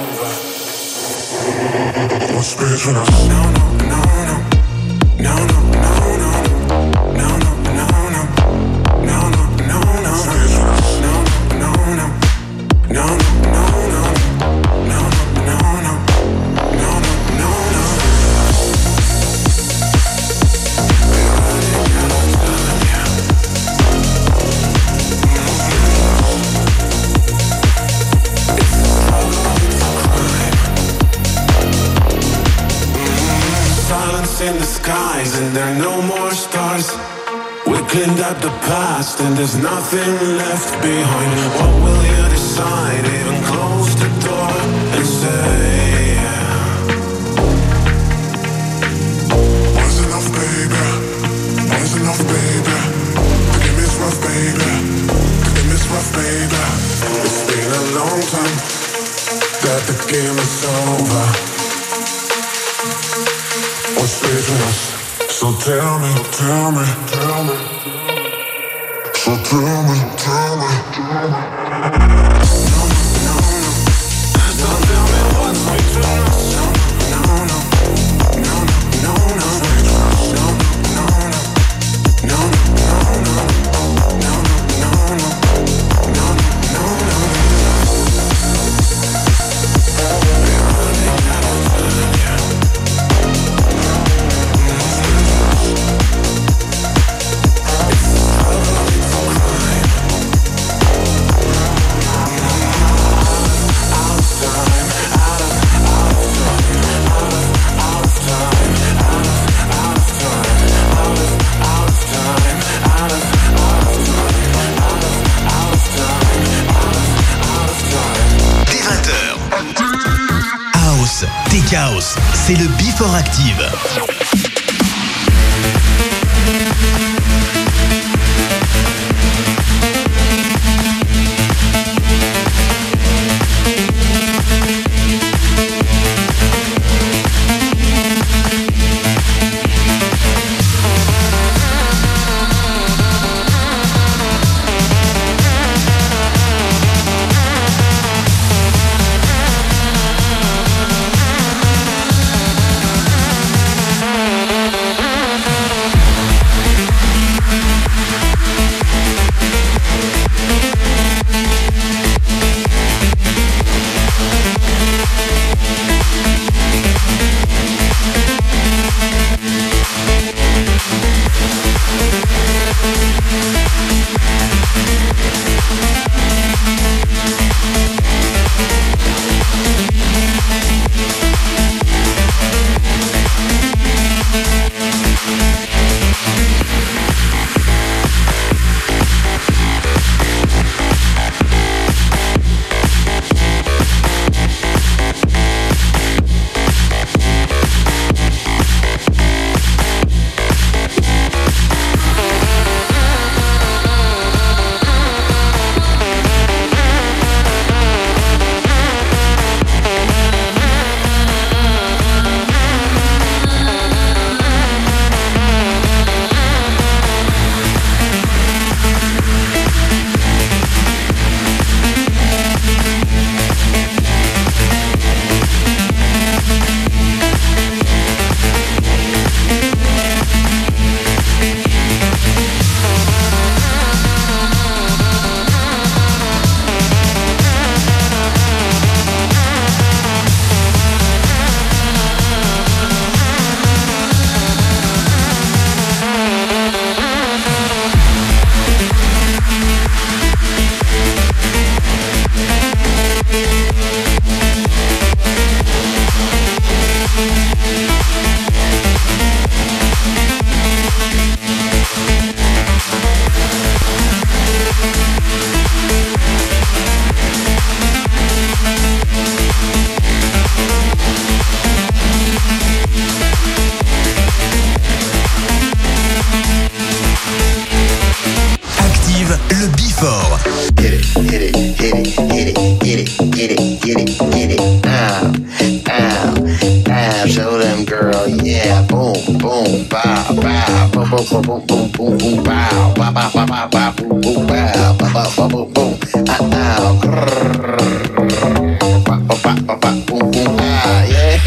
What's between us? No, no, no, no, no, no, no, no, no, no, no, no, no, no, no, no. What's between us? No, no, no, no, no, no, no, no, no, no, no, no, no, no. We're running out of time, yeah. Silence in the skies and there are no more stars. We cleaned up the past and there's nothing left behind. What will you decide? Even close the door and say, was enough, baby? Was enough, baby? The game is rough, baby. The game is rough, baby. It's been a long time that the game is over. What's between us? So tell me, tell me, tell me. So tell me, tell me, tell me. No, no, no. So tell me what's between us. No, no, no, no, no, no, no, no, no, no, no, Tech House, c'est le Before Active. them, girl, yeah. Boom, boom, bow, bow, boom, boom, boom, boom, boom, boom, boom, bow, bow, bow, bow, bow, bow, boom, boom, bow, bow, bow, bow, boom, boom, boom, boom, ah, yes.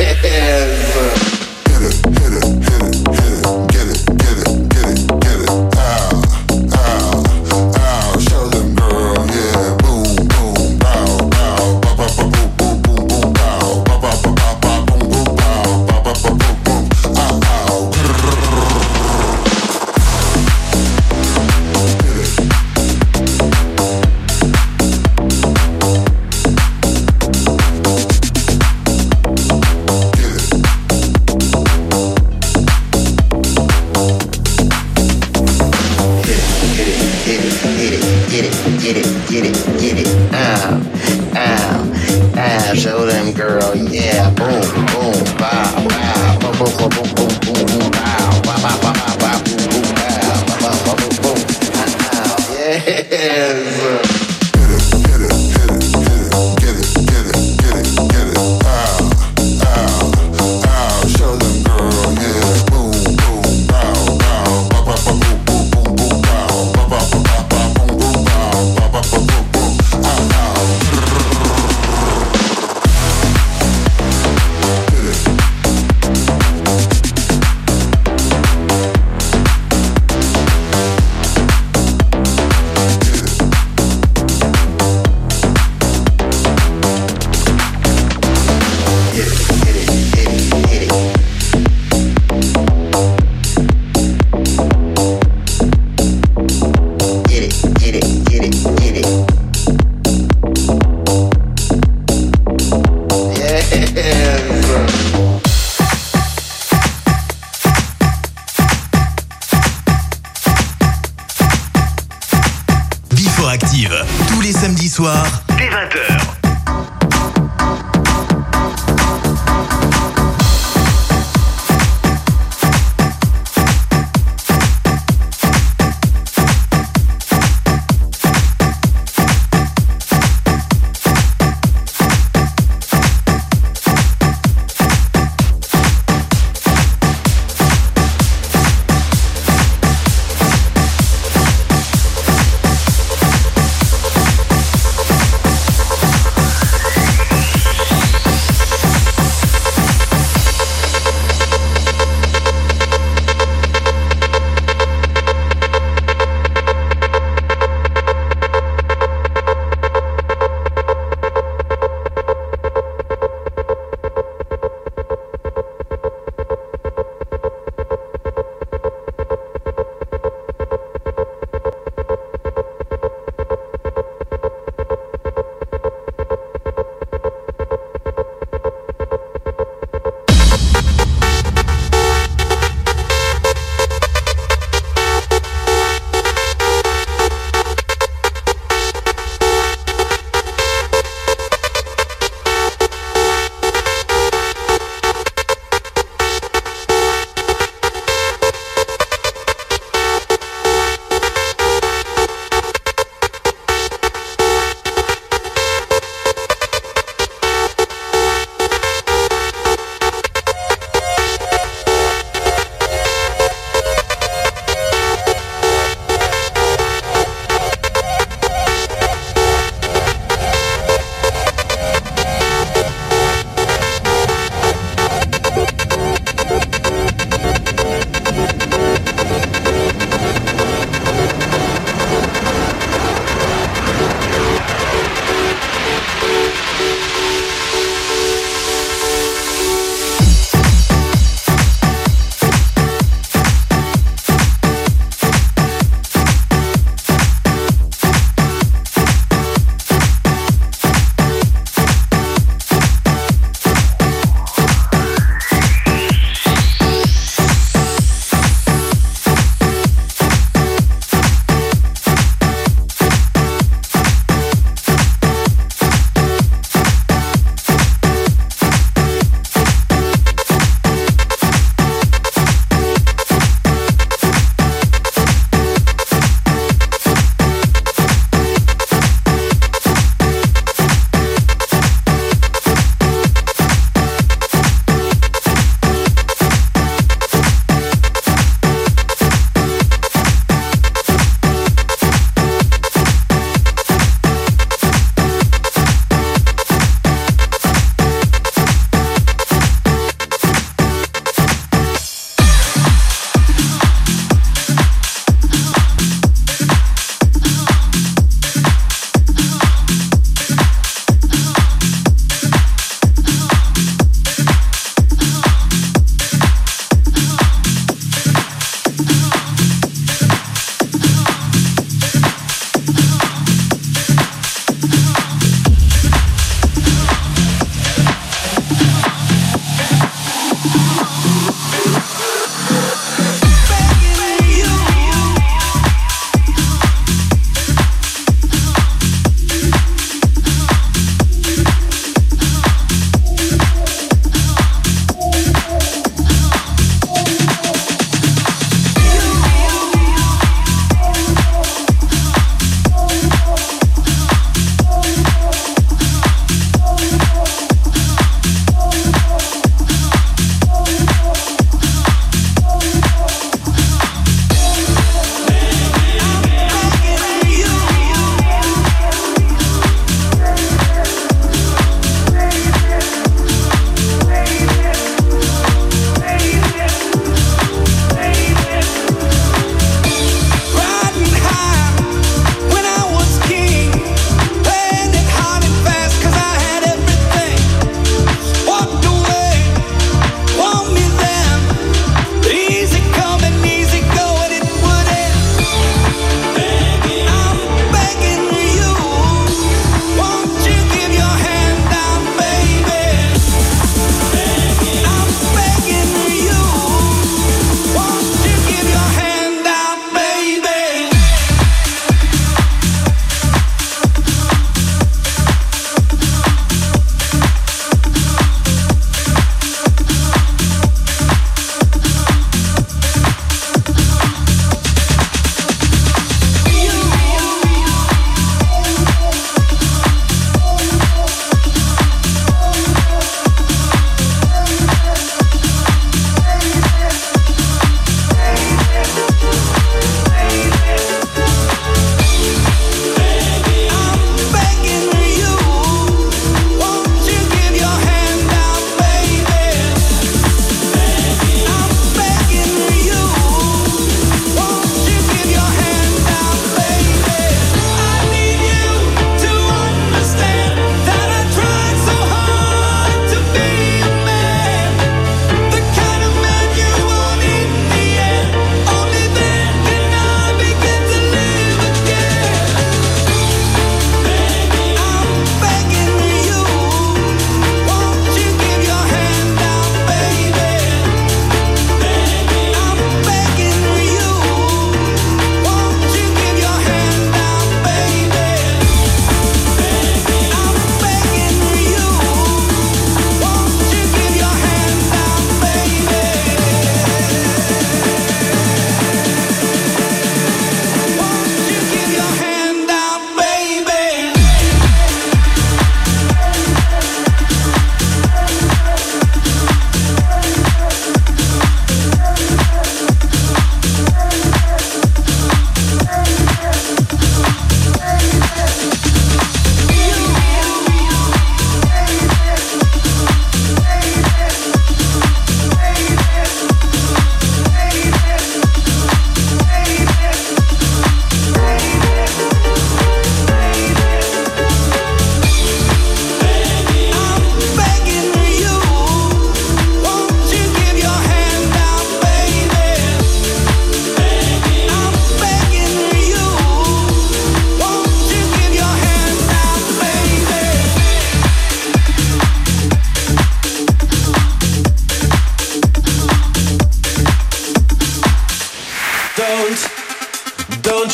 Tous les samedis soirs, dès 20h.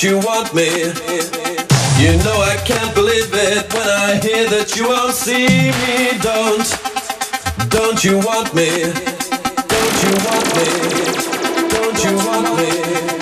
you want me? You know I can't believe it when I hear that you won't see me. Don't you want me? Don't you want me? Don't you want me?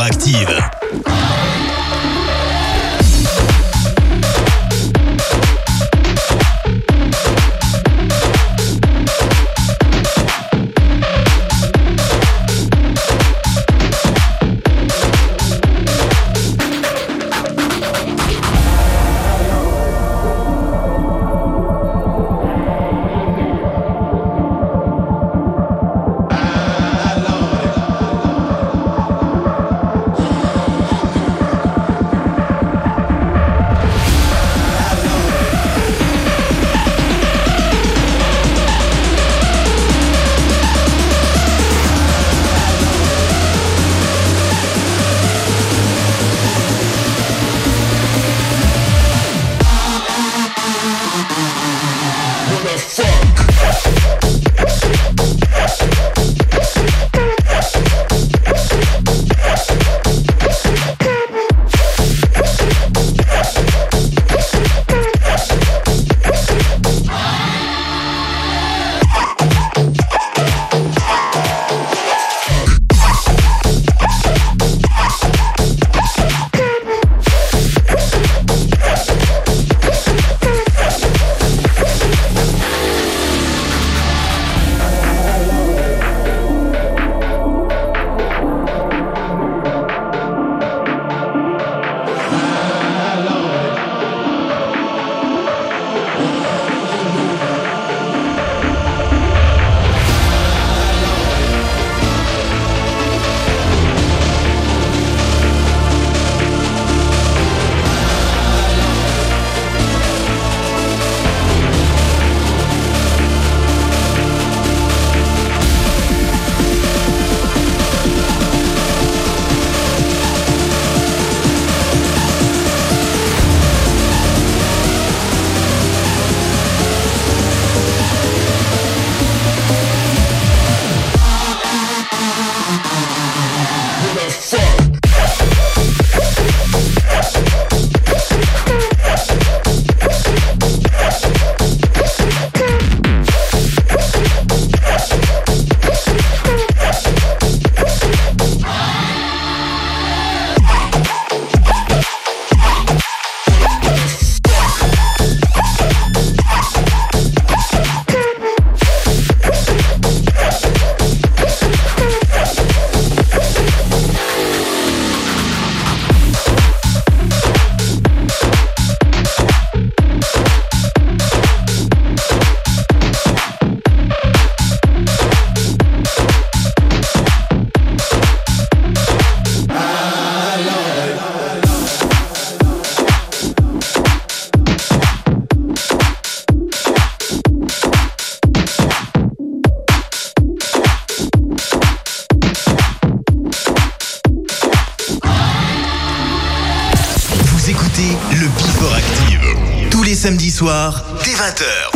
Active. Samedi soir, dès 20h.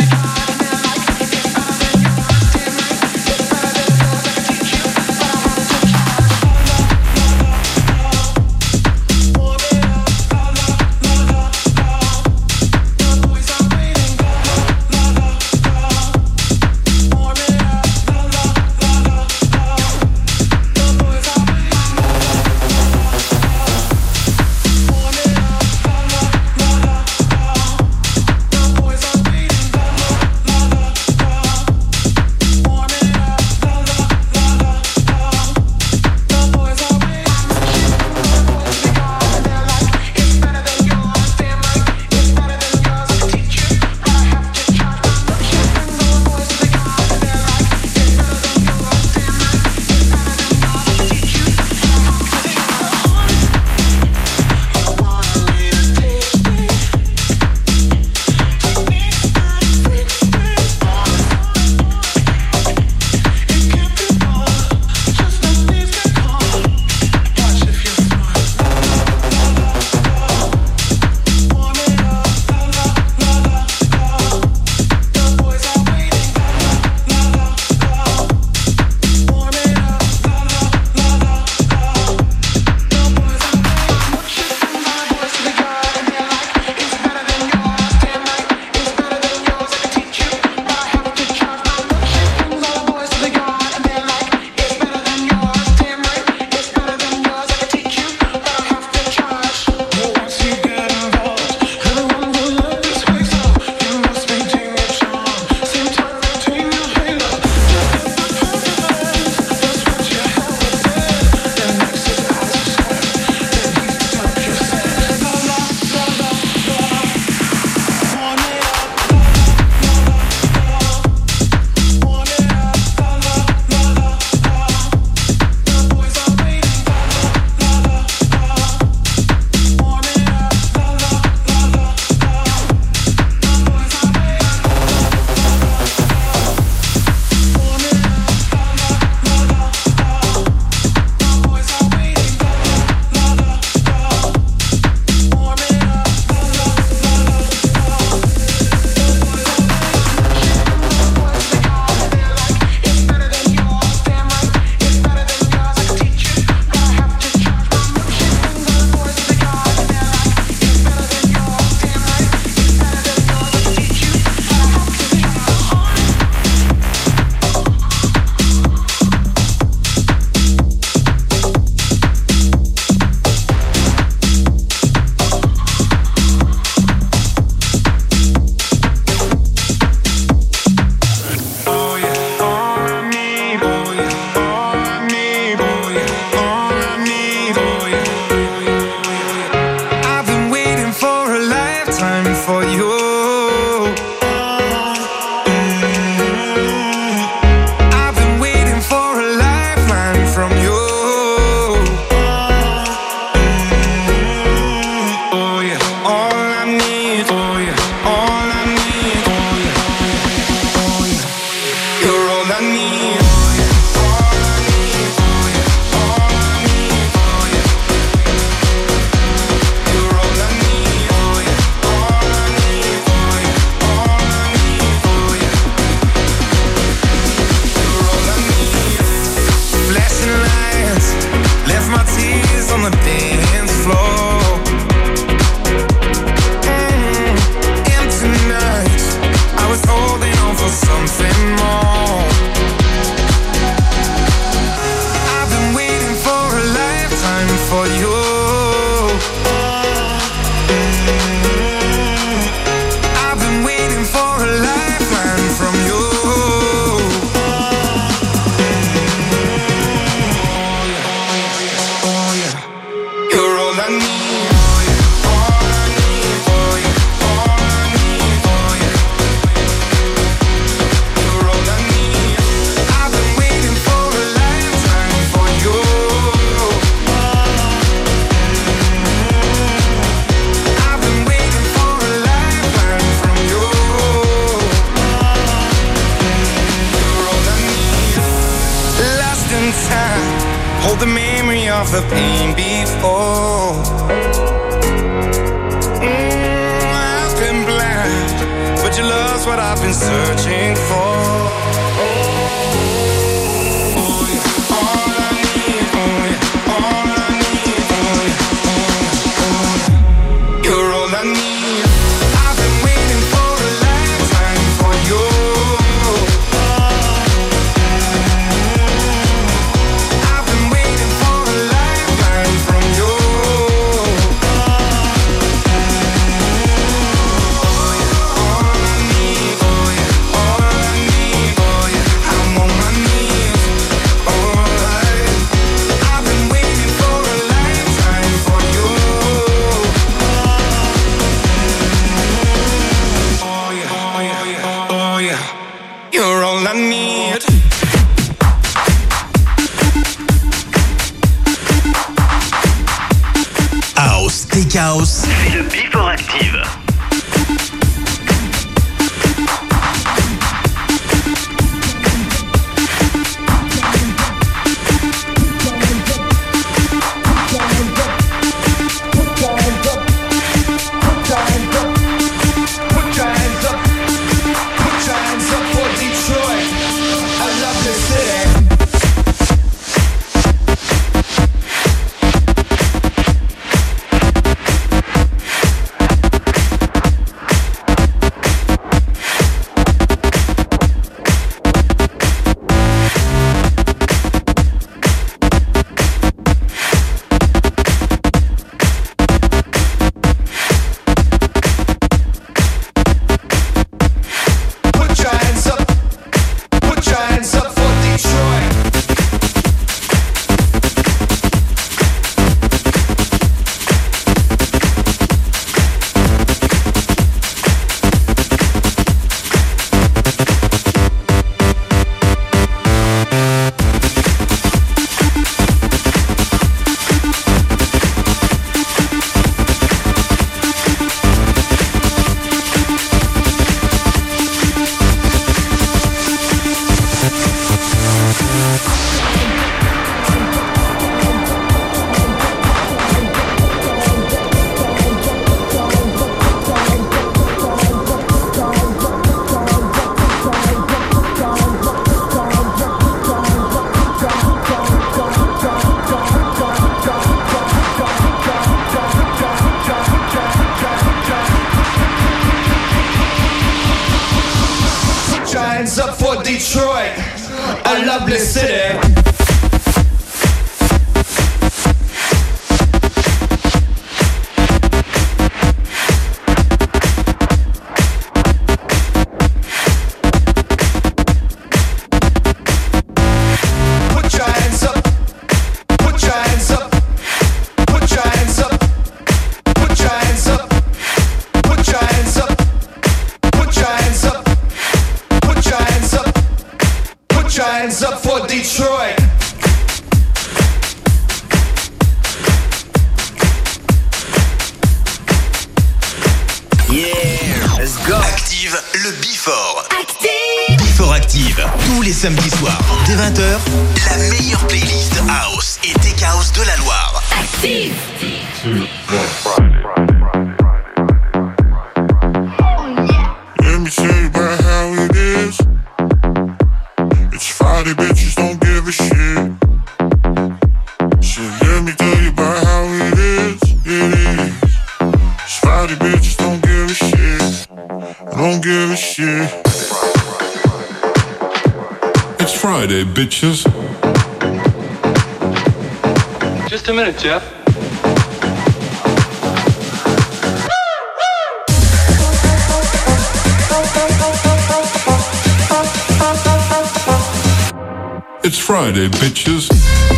Time the memory of the pain before. I've been blind, but your love's what I've been searching for. Chaos. C'est le Before Active. Detroit, a lovely city. Hands up for Detroit. Yeah, let's go. Active le Before. Active. Before Active. Tous les samedis soirs, dès 20h, la meilleure playlist House et Tech House de la Loire. Active. Let me tell you about how it is. It's Friday, bitches don't give a shit. So let me tell you about how it is. It is. It's Friday, bitches don't give a shit. Don't give a shit. It's Friday, bitches. Just a minute, Jeff. It's Friday, bitches.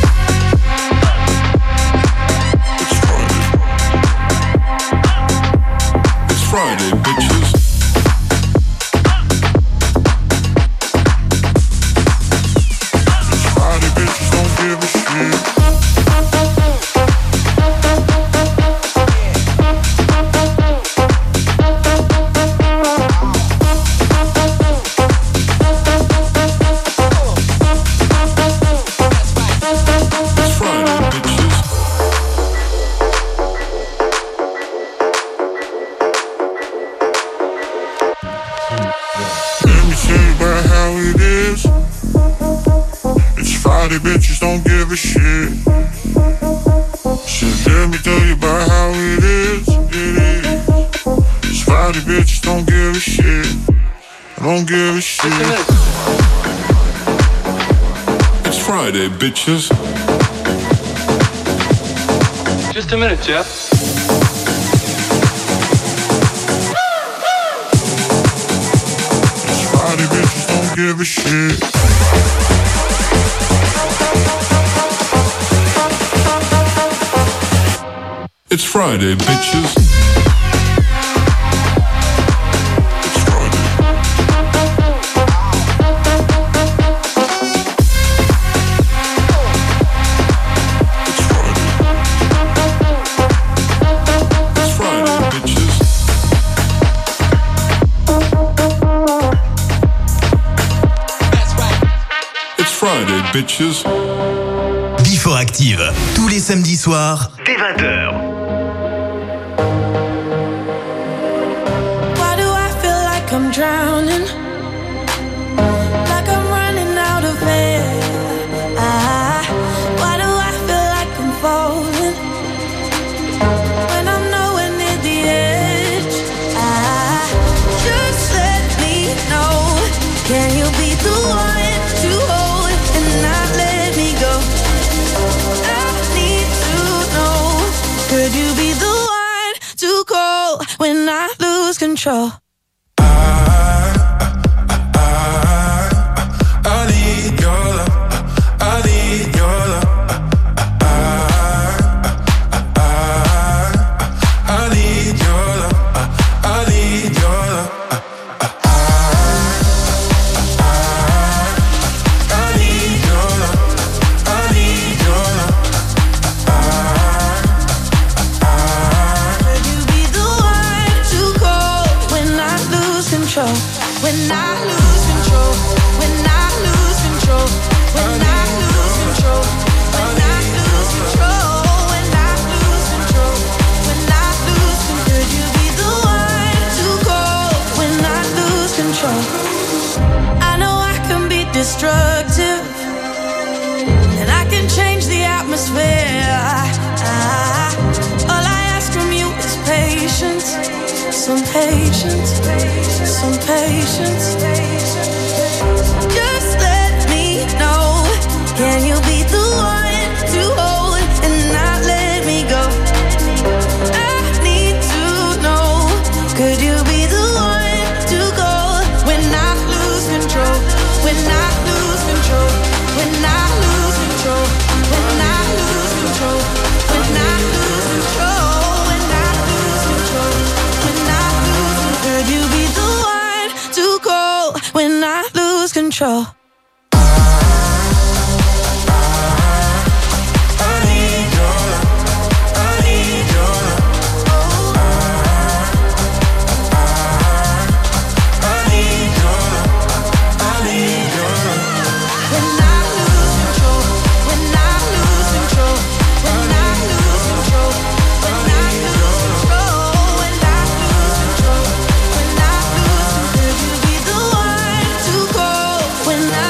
It's Friday, bitches. It's Friday, bitches don't give a shit. it is. It's Friday, bitches don't give a shit. So let me tell you about how it is. It is. It's Friday, bitches don't give a shit. I don't give a shit. It's Friday, bitches. Just a minute, Jeff. It's Friday, bitches don't give a shit. It's Friday, bitches. Bitches. Before Active, tous les samedis soirs, dès 20h. Why do I feel like I'm drowning? Like I'm running out of air. Why do I feel like I'm falling? When I'm nowhere near the edge. Just let me know. Can you be the one to hold and not let me go? I need to know. Could you be the one to call when I lose control? I need your love. I need your love. I need your love. I need your love. When I lose control, when I lose control, when I lose control, when I lose control, when I lose control, when I lose control, could you be the one to call when I lose control? I know I can be destructive, and I can change the atmosphere. All I ask from you is patience. Some patience, some patience. Just let me know. Can you be the one to hold and not let me go? I need to know. Could you be the one to go when I lose control? When I lose control? When I lose control? When I lose control? When I lose control? Could you be the one to call when I lose control? When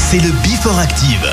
c'est le Before Active.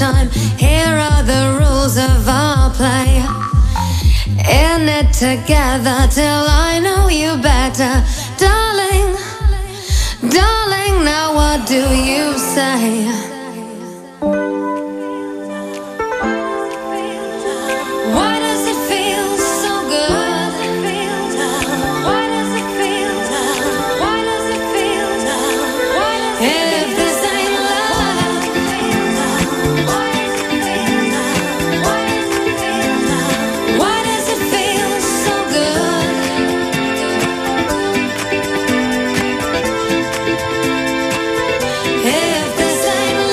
time. Here are the rules of our play. In it together till I know you better. Darling, darling, now what do you say? Why does it feel so good? Why does it feel? Why does it feel? If this ain't love, why does it feel so good? If this ain't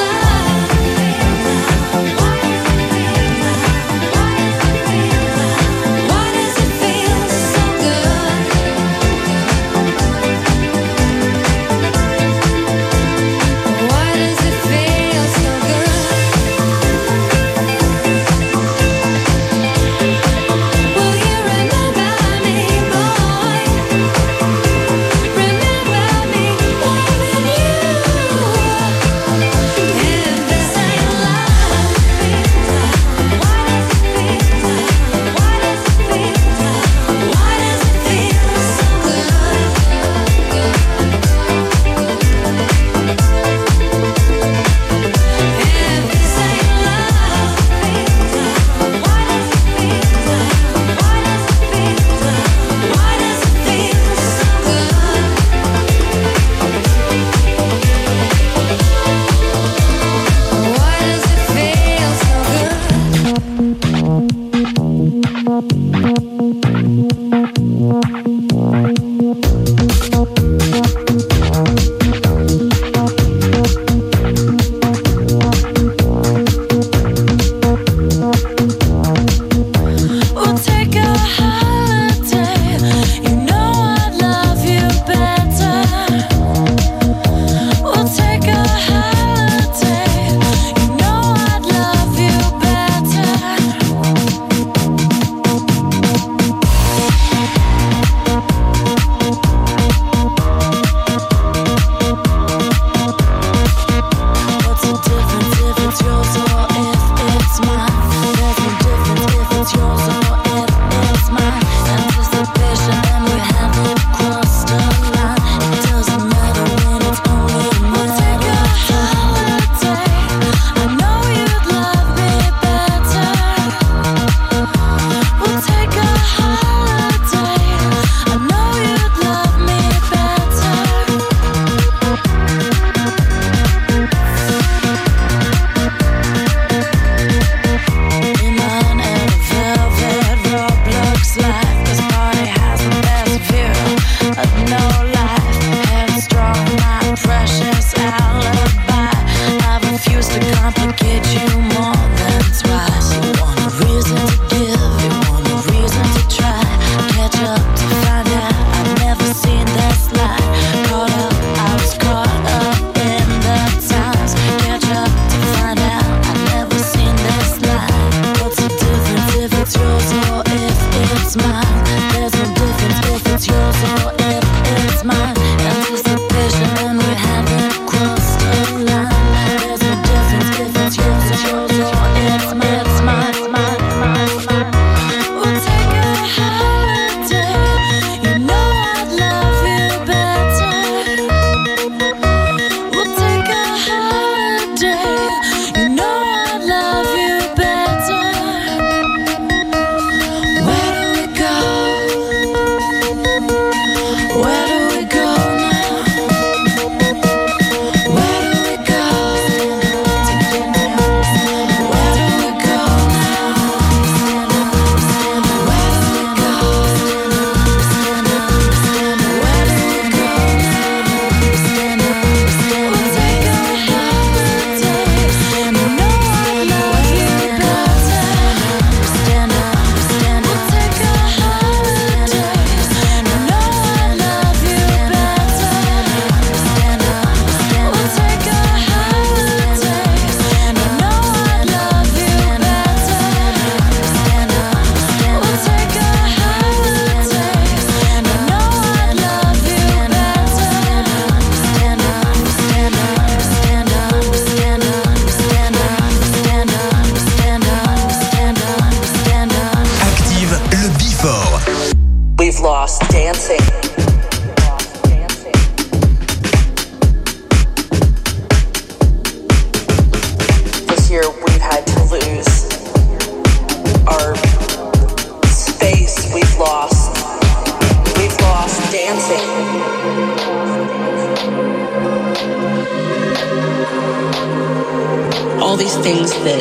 things that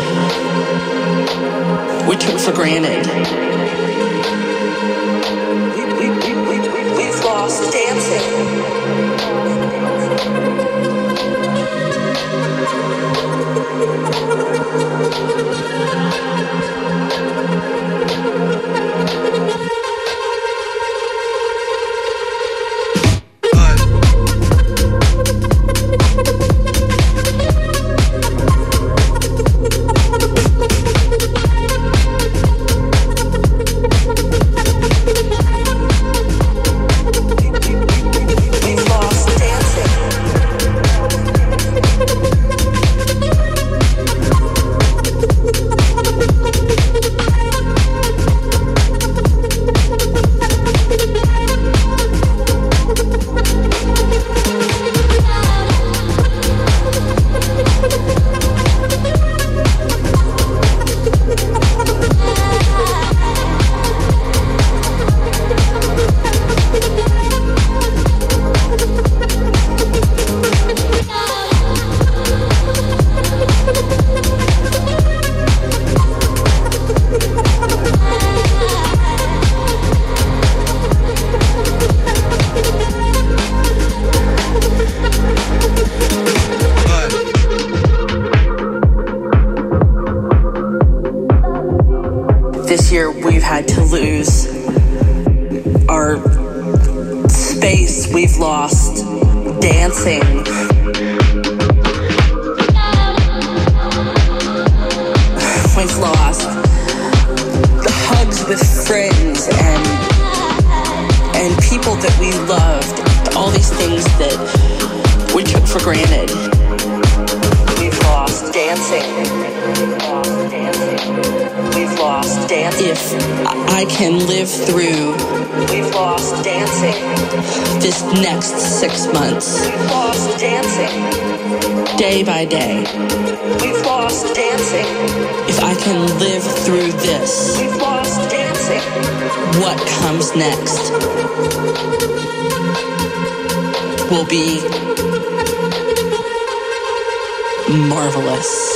we took for granted. We've lost dancing. This year we've had to lose our space. We've lost dancing. We've lost the hugs with friends and people that we loved. All these things that we took for granted. We've lost dancing. We've lost dancing. If I can live through, we've lost dancing. This next 6 months, we've lost dancing. Day by day, we've lost dancing. If I can live through this, we've lost dancing. What comes next will be marvelous.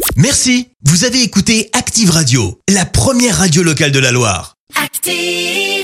Merci, vous avez écouté Active Radio, la première radio locale de la Loire. Active!